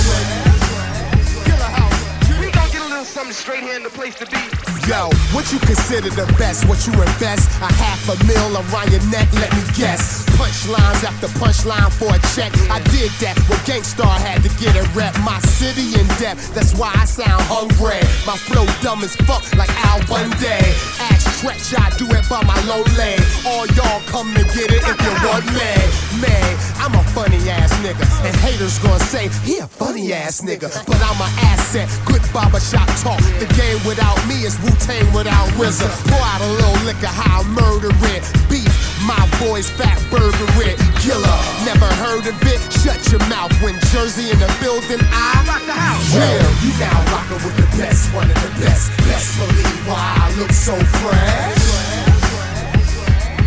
We gon' get a little something straight here in the place to be. Yo, what you consider the best? What you invest? A half a mil around your neck, let me guess. Punchlines after punchline for a check. I did that when Gangstar had to get a rep. My city in depth, that's why I sound hungry. My flow dumb as fuck like Al Bundy. Ask Stretch, I do it by my low leg. All y'all come and get it if you want me. Man, I'm a funny ass nigga. And haters gonna say, he a funny ass nigga. But I'm an asset, good barbershop talk. The game without me is Wu-Tang without R Z A. Pour out a little liquor, how I murder it. Beef, my boys fat burger it. Killer, never heard of it. Shut your mouth when Jersey in the building. I rock the house. Yeah, you now rockin' with the best, one of the best. Best believe why I look so fresh.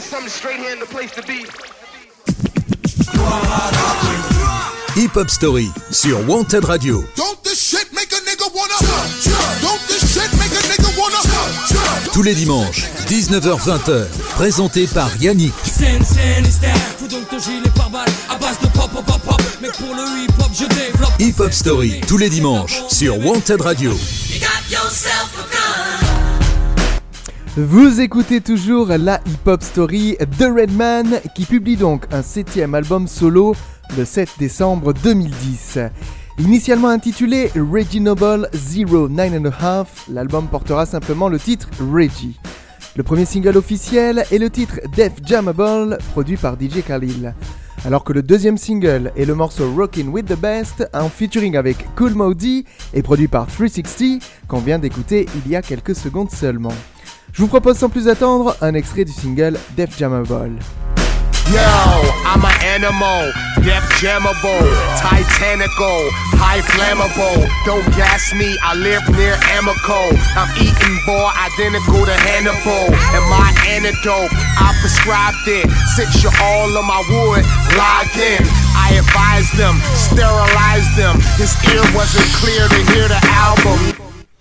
something straight here in the place to be. Hip Hop Story sur Wanted Radio. Don't this shit make a nigga wanna Don't this shit make a nigga wanna Tous les dimanches, dix-neuf heures vingt, présenté par Yannick. Scène, scène, style. Fous donc ton gilet pare-balles à base de pop, pop, pop, pop. Mais pour le hip-hop, je développe. Hip Hop Story, tous les dimanches, sur Wanted Radio. You got yourself a gun. Vous écoutez toujours la Hip Hop Story de Redman, qui publie donc un septième album solo le sept décembre deux mille dix. Initialement intitulé Reggie Noble zéro neuf and a half, l'album portera simplement le titre Reggie. Le premier single officiel est le titre Def Jammable, produit par D J Khalil. Alors que le deuxième single est le morceau Rockin' with the Best, en featuring avec Kool Moe Dee et produit par three sixty, qu'on vient d'écouter il y a quelques secondes seulement. Je vous propose sans plus attendre un extrait du single Def Jammable. Yo, I'm an animal, death jammable, titanical, high flammable. Don't gas me, I live near Amico. I'm eating boy identical to Hannibal. And my antidote, I prescribed it. Since you're all on my wood, log in. I advised them, sterilized them. His ear wasn't clear to hear the album.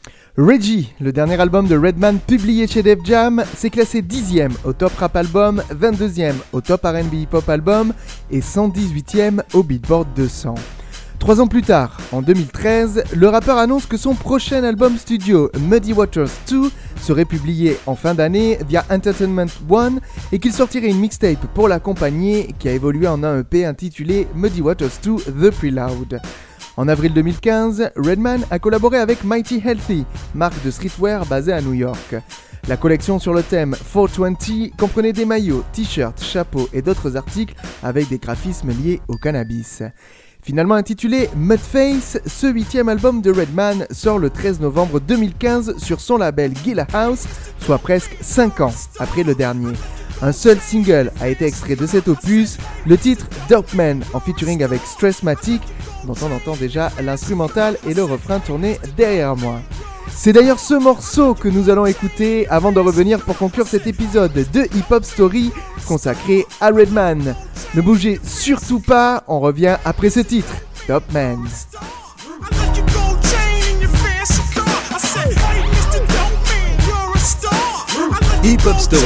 Reggie, le dernier album de Redman publié chez Def Jam, s'est classé dixième au Top Rap Album, vingt-deuxième au Top R and B Hip Hop Album et cent dix-huitième au Beatport deux cents. Trois ans plus tard, en deux mille treize, le rappeur annonce que son prochain album studio, Muddy Waters deux, serait publié en fin d'année via Entertainment One et qu'il sortirait une mixtape pour l'accompagner qui a évolué en un E P intitulé Muddy Waters deux The Prelude. En avril deux mille quinze, Redman a collaboré avec Mighty Healthy, marque de streetwear basée à New York. La collection sur le thème quatre cent vingt comprenait des maillots, t-shirts, chapeaux et d'autres articles avec des graphismes liés au cannabis. Finalement intitulé Mudface, ce huitième album de Redman sort le treize novembre deux mille quinze sur son label Gilla House, soit presque cinq ans après le dernier. Un seul single a été extrait de cet opus, le titre Dope Man en featuring avec Stressmatic, dont on entend déjà l'instrumental et le refrain tourné derrière moi. C'est d'ailleurs ce morceau que nous allons écouter avant de revenir pour conclure cet épisode de Hip Hop Story consacré à Redman. Ne bougez surtout pas, on revient après ce titre, Dope Man. Hip Hop Story.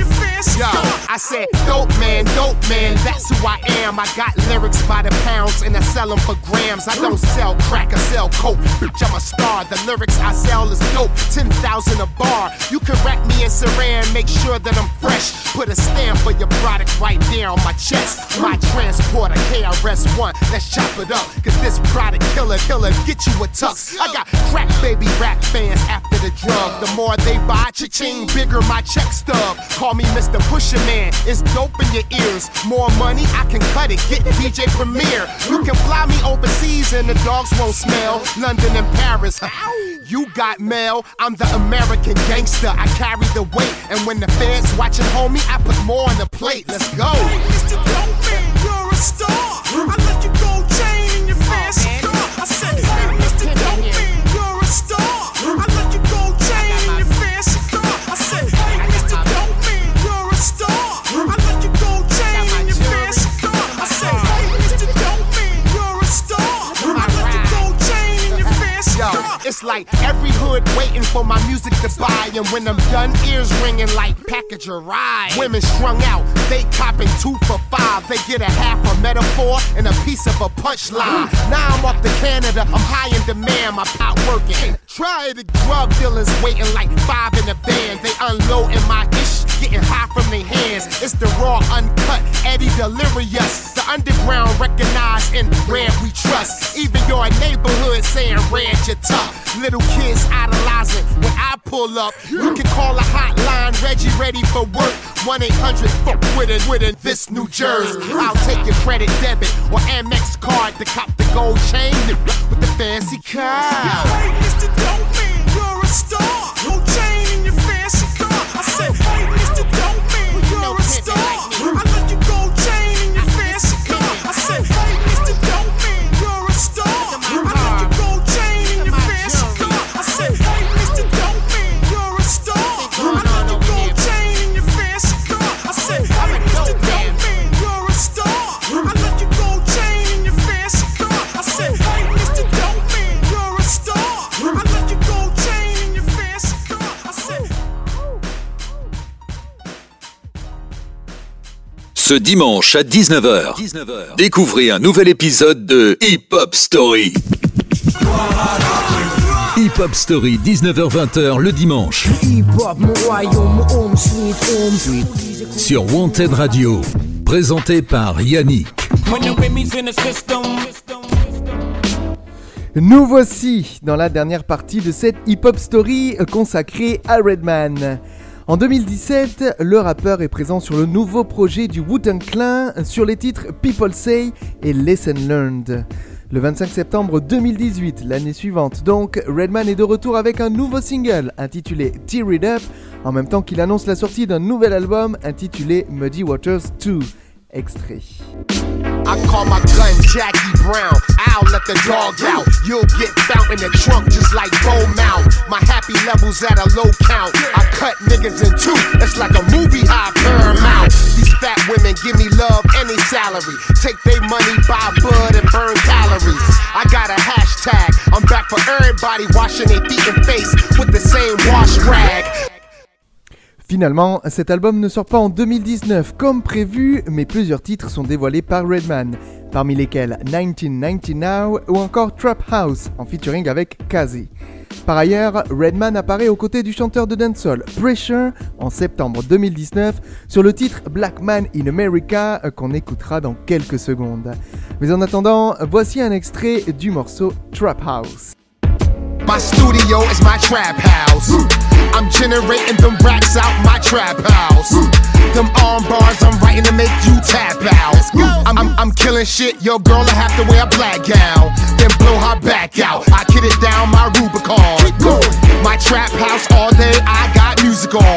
Yo, I said, dope man, dope man, that's who I am. I got lyrics by the pounds and I sell them for grams. I don't sell crack, I sell coke, bitch, I'm a star. The lyrics I sell is dope, ten thousand a bar. You can rack me in Saran, make sure that I'm fresh. Put a stamp for your product right there on my chest. My transporter, K R S One, let's chop it up. Cause this product killer, killer, get you a tux. I got crack baby rap fans after the drug. The more they buy, cha-ching, bigger my check stub. Call me Mister Pusher Man, it's dope in your ears. More money, I can cut it, get D J Premier. You can fly me overseas and the dogs won't smell. London and Paris, you got mail. I'm the American gangster, I carry the weight. And when the feds watching homie, I put more on the plate. Let's go. Hey, Mister Dope Man, you're a star. I let you go chain in your fancy car. I said, hey, Mister Dope Man, you're a star. I let you go chain in your fancy car. I said, hey, Mister Dope Man, you're a star. I let you go chain in your fancy car. I said, hey, Mister Dope Man, you're a star. I let you go chain in your fancy Yo, car. it's like every hood waiting for my music to buy. And when I'm done, ears ringing like package a ride. Women strung out, they copping two for five. They get a half a metaphor and a piece of a punchline. Now I'm off to Canada, I'm high in demand, my pot working. Try the drug dealers waiting like five in a van. They unloading my ish, getting high from their hands. It's the raw, uncut, Eddie Delirious. The underground recognized and Red we trust. Even your neighborhood saying Red you're tough. Little kids idolizing when I pull up. You can call a hotline, Reggie ready for work. one eight hundred fuck with it, with it, this New Jersey. I'll take your credit debit or Amex card to cop the gold chain with the fancy car. Hey, Mister Dope Man, you're a star. No chain in your fancy car. I said, hey, Mister Dope Man, you're a star. I let you go chain in your fancy car. I said, hey, Mister Dope Man, you're a star. I let you go chain in your fancy car. I said, hey, Mister Dope Man, you're a star. I let you go chain in your fancy car. I said, Ce dimanche à dix-neuf heures, découvrez un nouvel épisode de Hip Hop Story. Hip Hop Story, dix-neuf heures vingt le dimanche. Sur Wanted Radio. Présenté par Yannick. Nous voici dans la dernière partie de cette Hip Hop Story consacrée à Redman. En deux mille dix-sept, le rappeur est présent sur le nouveau projet du Wu-Tang Clan sur les titres People Say et Lesson Learned. Le vingt-cinq septembre deux mille dix-huit, l'année suivante donc, Redman est de retour avec un nouveau single intitulé Tear It Up, en même temps qu'il annonce la sortie d'un nouvel album intitulé Muddy Waters deux. Extrait. I call my gun Jackie Brown. I'll let the dog out. You'll get found in the trunk just like Bone Mount. My happy levels at a low count. I cut niggas in two. It's like a movie high Paramount. These fat women give me love and they salary. Take their money, buy bud and burn calories. I got a hashtag. I'm back for everybody washing their feet and face with the same wash rag. Finalement, cet album ne sort pas en deux mille dix-neuf comme prévu, mais plusieurs titres sont dévoilés par Redman, parmi lesquels dix-neuf quatre-vingt-dix Now ou encore Trap House, en featuring avec Kazi. Par ailleurs, Redman apparaît aux côtés du chanteur de dancehall Pressure en septembre deux mille dix-neuf sur le titre Black Man in America qu'on écoutera dans quelques secondes. Mais en attendant, voici un extrait du morceau Trap House. My studio is my trap house. I'm generating them racks out my trap house. Them arm bars I'm writing to make you tap out. I'm, I'm, I'm killing shit, your girl will have to wear a black gown. Then blow her back out, I kid it down my Rubicon. My trap house all day, I got music on.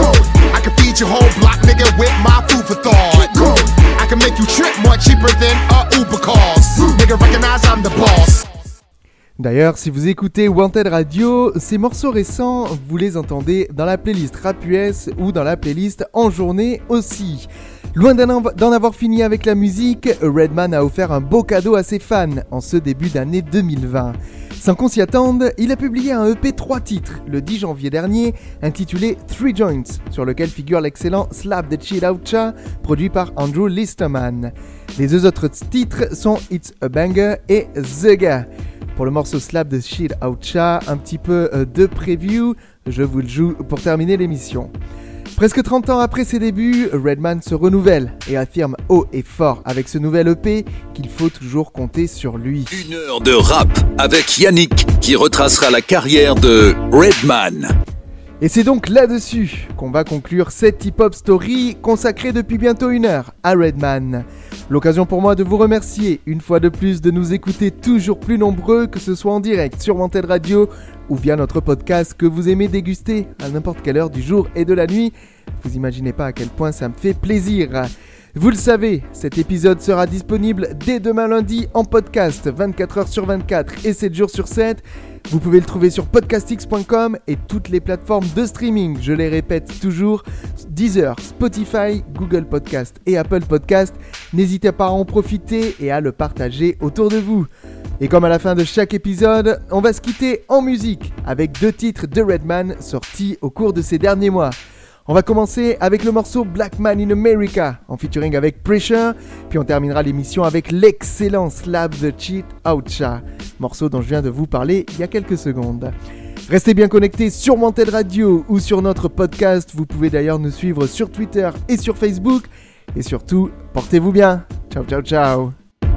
I can feed your whole block, nigga, with my food for thought. I can make you trip more cheaper than a Uber cost. Nigga, recognize I'm the boss. D'ailleurs, si vous écoutez Wanted Radio, ces morceaux récents, vous les entendez dans la playlist Rap U S ou dans la playlist En Journée aussi. Loin d'en, d'en avoir fini avec la musique, Redman a offert un beau cadeau à ses fans en ce début d'année deux mille vingt. Sans qu'on s'y attende, il a publié un E P trois titres le dix janvier dernier, intitulé Three Joints, sur lequel figure l'excellent Slap the Shit Out Cha, produit par Andrew Listerman. Les deux autres titres sont It's a Banger et The Guy. Pour le morceau Slap the Shit Out Cha, un petit peu de preview, je vous le joue pour terminer l'émission. Presque trente ans après ses débuts, Redman se renouvelle et affirme haut et fort avec ce nouvel E P qu'il faut toujours compter sur lui. Une heure de rap avec Yannick qui retracera la carrière de Redman. Et c'est donc là-dessus qu'on va conclure cette hip-hop story consacrée depuis bientôt une heure à Redman. L'occasion pour moi de vous remercier une fois de plus de nous écouter toujours plus nombreux, que ce soit en direct sur Wanted Radio ou via notre podcast que vous aimez déguster à n'importe quelle heure du jour et de la nuit. Vous imaginez pas à quel point ça me fait plaisir. Vous le savez, cet épisode sera disponible dès demain lundi en podcast, vingt-quatre heures sur vingt-quatre et sept jours sur sept. Vous pouvez le trouver sur podcastx point com et toutes les plateformes de streaming, je les répète toujours, Deezer, Spotify, Google Podcast et Apple Podcast. N'hésitez pas à en profiter et à le partager autour de vous. Et comme à la fin de chaque épisode, on va se quitter en musique avec deux titres de Redman sortis au cours de ces derniers mois. On va commencer avec le morceau Black Man in America en featuring avec Pressure, puis on terminera l'émission avec l'excellent Slap the Shit Out Cha, morceau dont je viens de vous parler il y a quelques secondes. Restez bien connectés sur Wanted Radio ou sur notre podcast, vous pouvez d'ailleurs nous suivre sur Twitter et sur Facebook, et surtout, portez-vous bien. Ciao ciao ciao.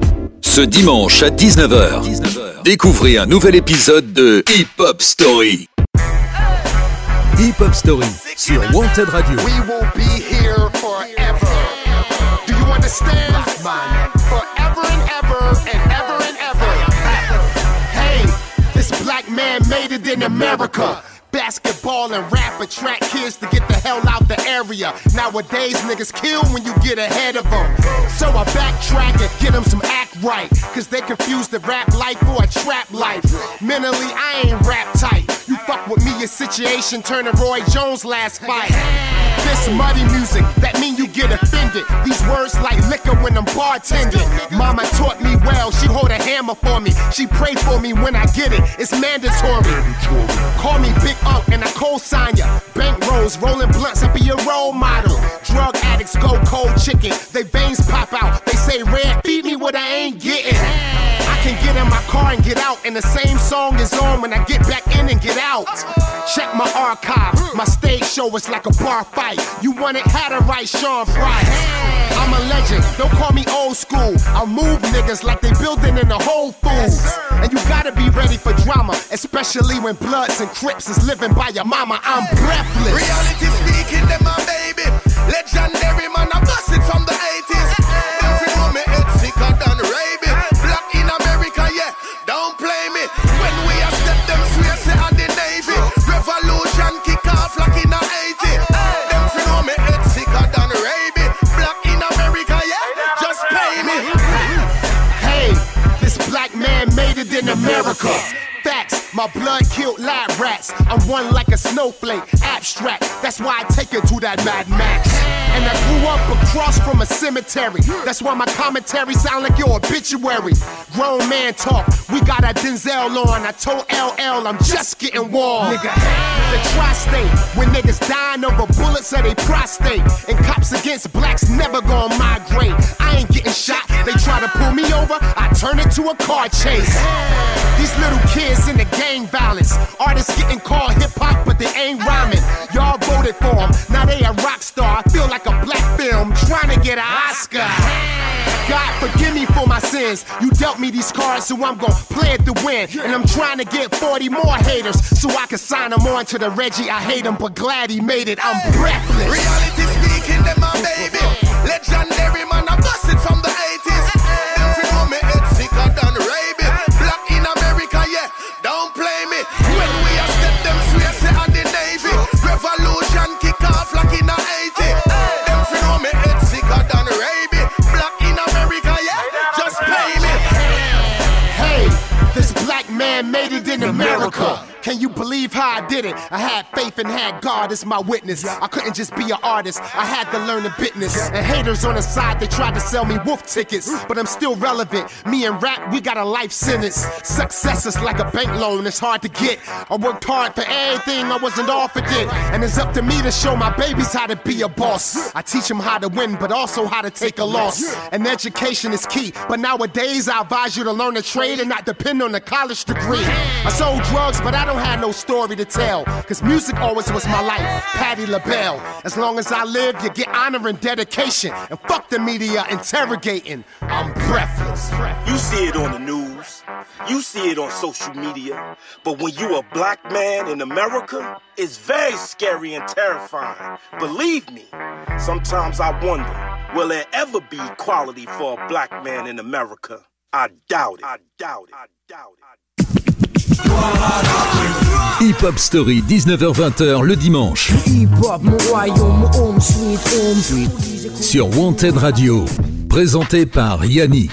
Ce dimanche à dix-neuf heures, découvrez un nouvel épisode de Hip Hop Story. Hip Hop Story sur Wanted Radio. We will be here forever. Do you understand? Forever and ever and ever and ever. Hey, this black man made it in America. Basketball and rap attract kids to get the hell out the area. Nowadays, niggas kill when you get ahead of them. So I backtrack and get them some act right. Cause they confuse the rap life for a trap life. Mentally, I ain't rap tight. You fuck with me, your situation turn to Roy Jones' last fight. This muddy music, that mean you get offended. These words like liquor when I'm bartending. Mama taught me well, she hold a hammer for me. She pray for me when I get it, it's mandatory. Call me Big Unc and I co-sign ya. Bank rolls, rolling blunts, I be your role model. Drug addicts go cold chicken, they veins pop out. They say, Red, feed me what I ain't getting. I can get in my car and get out, and the same song is on when I get back in and get out. Check my archive, my stage show is like a bar fight. You want it, had to write Sean Price. I'm a legend, don't call me old school. I'll move niggas like they building in the Whole Foods. And you gotta be ready for drama, especially when Bloods and Crips is living by your mama. I'm breathless. Reality speaking, them my baby. Legendary man, I bust it from the eighties. Them fi know me head sicker than rabies. Black in America, yeah, don't play me. When we a step them swear say on the Navy. Revolution kick off like in the eighties. Them fi know me head sicker than rabies. Black in America, yeah, just pay me. Hey, this black man made it in America. Facts, my blood killed lab rats. I'm one like a snowflake, abstract. That's why I take it to that Mad Max. And I grew up across from a cemetery. That's why my commentary sound like your obituary. Grown man talk, we got a Denzel on. I told L L I'm just getting warm. Nigga, the tri-state, when niggas dying over bullets of they prostate. And cops against blacks never gonna migrate. I ain't getting shot, they try to pull me over, I turn it to a car chase. These little kids in the gang violence. Artists getting called hip-hop, but they ain't rhyming. Y'all voted for them, now they a rock star. I feel like a black film, trying to get an Oscar. God forgive me for my sins. You dealt me these cards, so I'm gon' play it to win. And I'm trying to get forty more haters, so I can sign them on to the Reggie. I hate him, but glad he made it. I'm breathless. Reality speaking, them my baby. Legendary man, I bust it from the eighties. Them fi know me head sicker than rabies. Black in America, yeah, don't play me. When we a step them swear say on the Navy. Revolution kick off like in the eighties. Them fi know me head sicker than rabies. Black in America, yeah, just pay me. Hey, this black man made it in America. Can you believe how I did it? I had faith and had God as my witness. I couldn't just be an artist, I had to learn the business. And haters on the side, they tried to sell me wolf tickets. But I'm still relevant, me and rap, we got a life sentence. Success is like a bank loan, it's hard to get. I worked hard for everything I wasn't offered it. And it's up to me to show my babies how to be a boss. I teach them how to win, but also how to take a loss. And education is key, but nowadays I advise you to learn a trade and not depend on a college degree. I sold drugs, but I don't had no story to tell, cause music always was my life. Patti LaBelle. As long as I live, you get honor and dedication. And fuck the media interrogating. I'm breathless. You see it on the news, you see it on social media, but when you a black man in America, it's very scary and terrifying. Believe me, sometimes I wonder, will there ever be equality for a black man in America? I doubt it. I doubt it. I doubt it. Hip Hop Story, dix-neuf heures vingt le dimanche. Sur Wanted Radio, présenté par Yannick.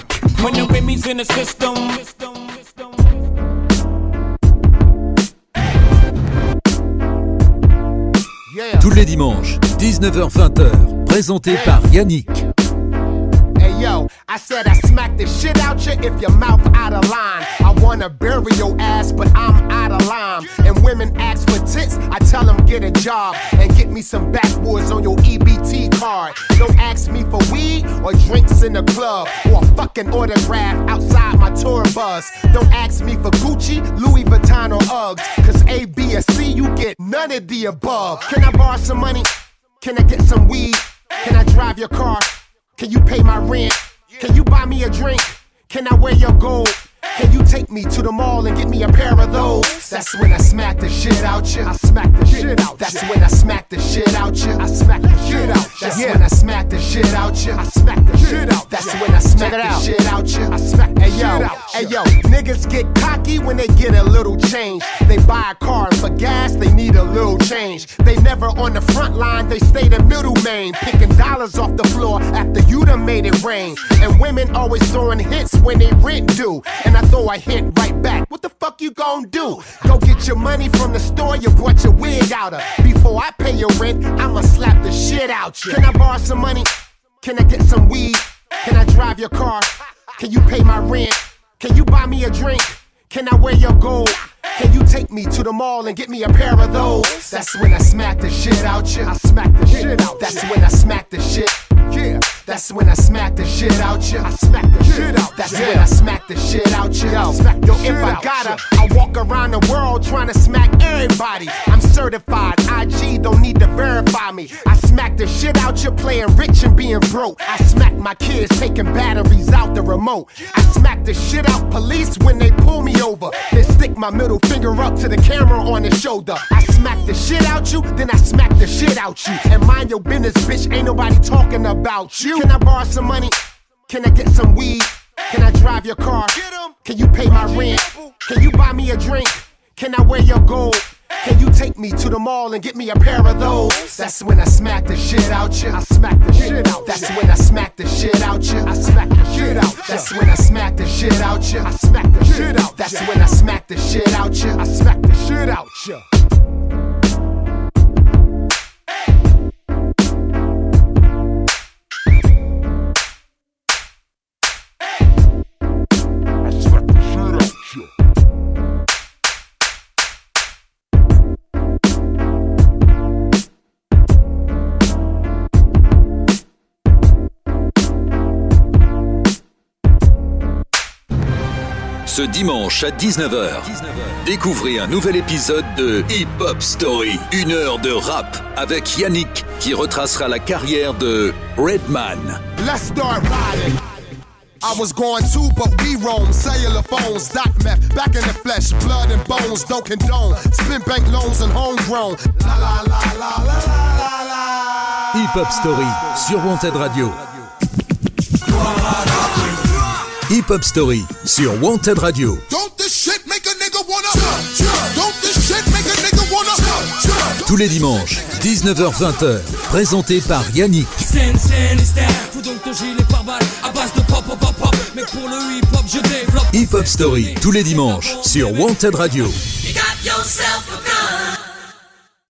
Tous les dimanches, dix-neuf heures vingt, présenté par Yannick. Yo, I said I smack the shit out you if your mouth out of line. I wanna bury your ass, but I'm out of line. And women ask for tits, I tell them get a job and get me some backwoods on your E B T card. Don't ask me for weed or drinks in the club or a fucking autograph outside my tour bus. Don't ask me for Gucci, Louis Vuitton or Uggs, cause A, B, or C, you get none of the above. Can I borrow some money? Can I get some weed? Can I drive your car? Can you pay my rent? Can you buy me a drink? Can I wear your gold? Can you take me to the mall and get me a pair of those? That's when I smack the shit out you. I smack the shit out. That's when I smack the shit out you. I smack the shit out. That's when I smack the shit out you. I smack the shit out. That's when I smack the shit out you. I smack the shit out. Hey yo, niggas get cocky when they get a little change. They buy a car for gas, they need a little change. They never on the front line, they stay the middle main, picking dollars off the floor after you done made it rain. And women always throwing hits when they rent due. And I throw a hint hit right back. What the fuck you gon' do? Go get your money from the store you brought your wig out of. Before I pay your rent, I'ma slap the shit out you. Can I borrow some money? Can I get some weed? Can I drive your car? Can you pay my rent? Can you buy me a drink? Can I wear your gold? Can you take me to the mall and get me a pair of those? That's when I smack the shit out you. I smack the shit out. That's when I smack the shit. Yeah. That's when I smack the shit out you. I smack the shit out. That's when I smack the shit out you. Yo, if I gotta, I walk around the world trying to smack everybody. I'm certified. I G don't need to verify me. I smack the shit out you playing rich and being broke. I smack my kids taking batteries out the remote. I smack the shit out police when they pull me over. Then stick my middle finger up to the camera on the shoulder. I smack the shit out you, then I smack the shit out you. And mind your business, bitch, ain't nobody talking about you. Can I borrow some money? Can I get some weed? Can I drive your car? Can you pay my rent? Can you buy me a drink? Can I wear your gold? Can you take me to the mall and get me a pair of those? That's when I smack the shit out you. I smack the shit out. That's when I smack the shit out you. I smack the shit out. That's when I smack the shit out you. I smack the shit out. That's when I smack the shit out you. I smack the shit out you. Ce dimanche à dix-neuf heures, découvrez un nouvel épisode de Hip Hop Story. Une heure de rap avec Yannick qui retracera la carrière de Redman. Let's start riding. I was going to, but we roam. Cellular phones, doc meth, back in the flesh, blood and bones, don't condone. Spin bank loans and homegrown. La la la la la la la. Hip Hop Story sur Wanted Radio. Hip Hop Story sur Wanted Radio. Tous les dimanches, dix-neuf heures vingt, présenté par Yannick. Hip Hop Story tous les dimanches sur Wanted Radio.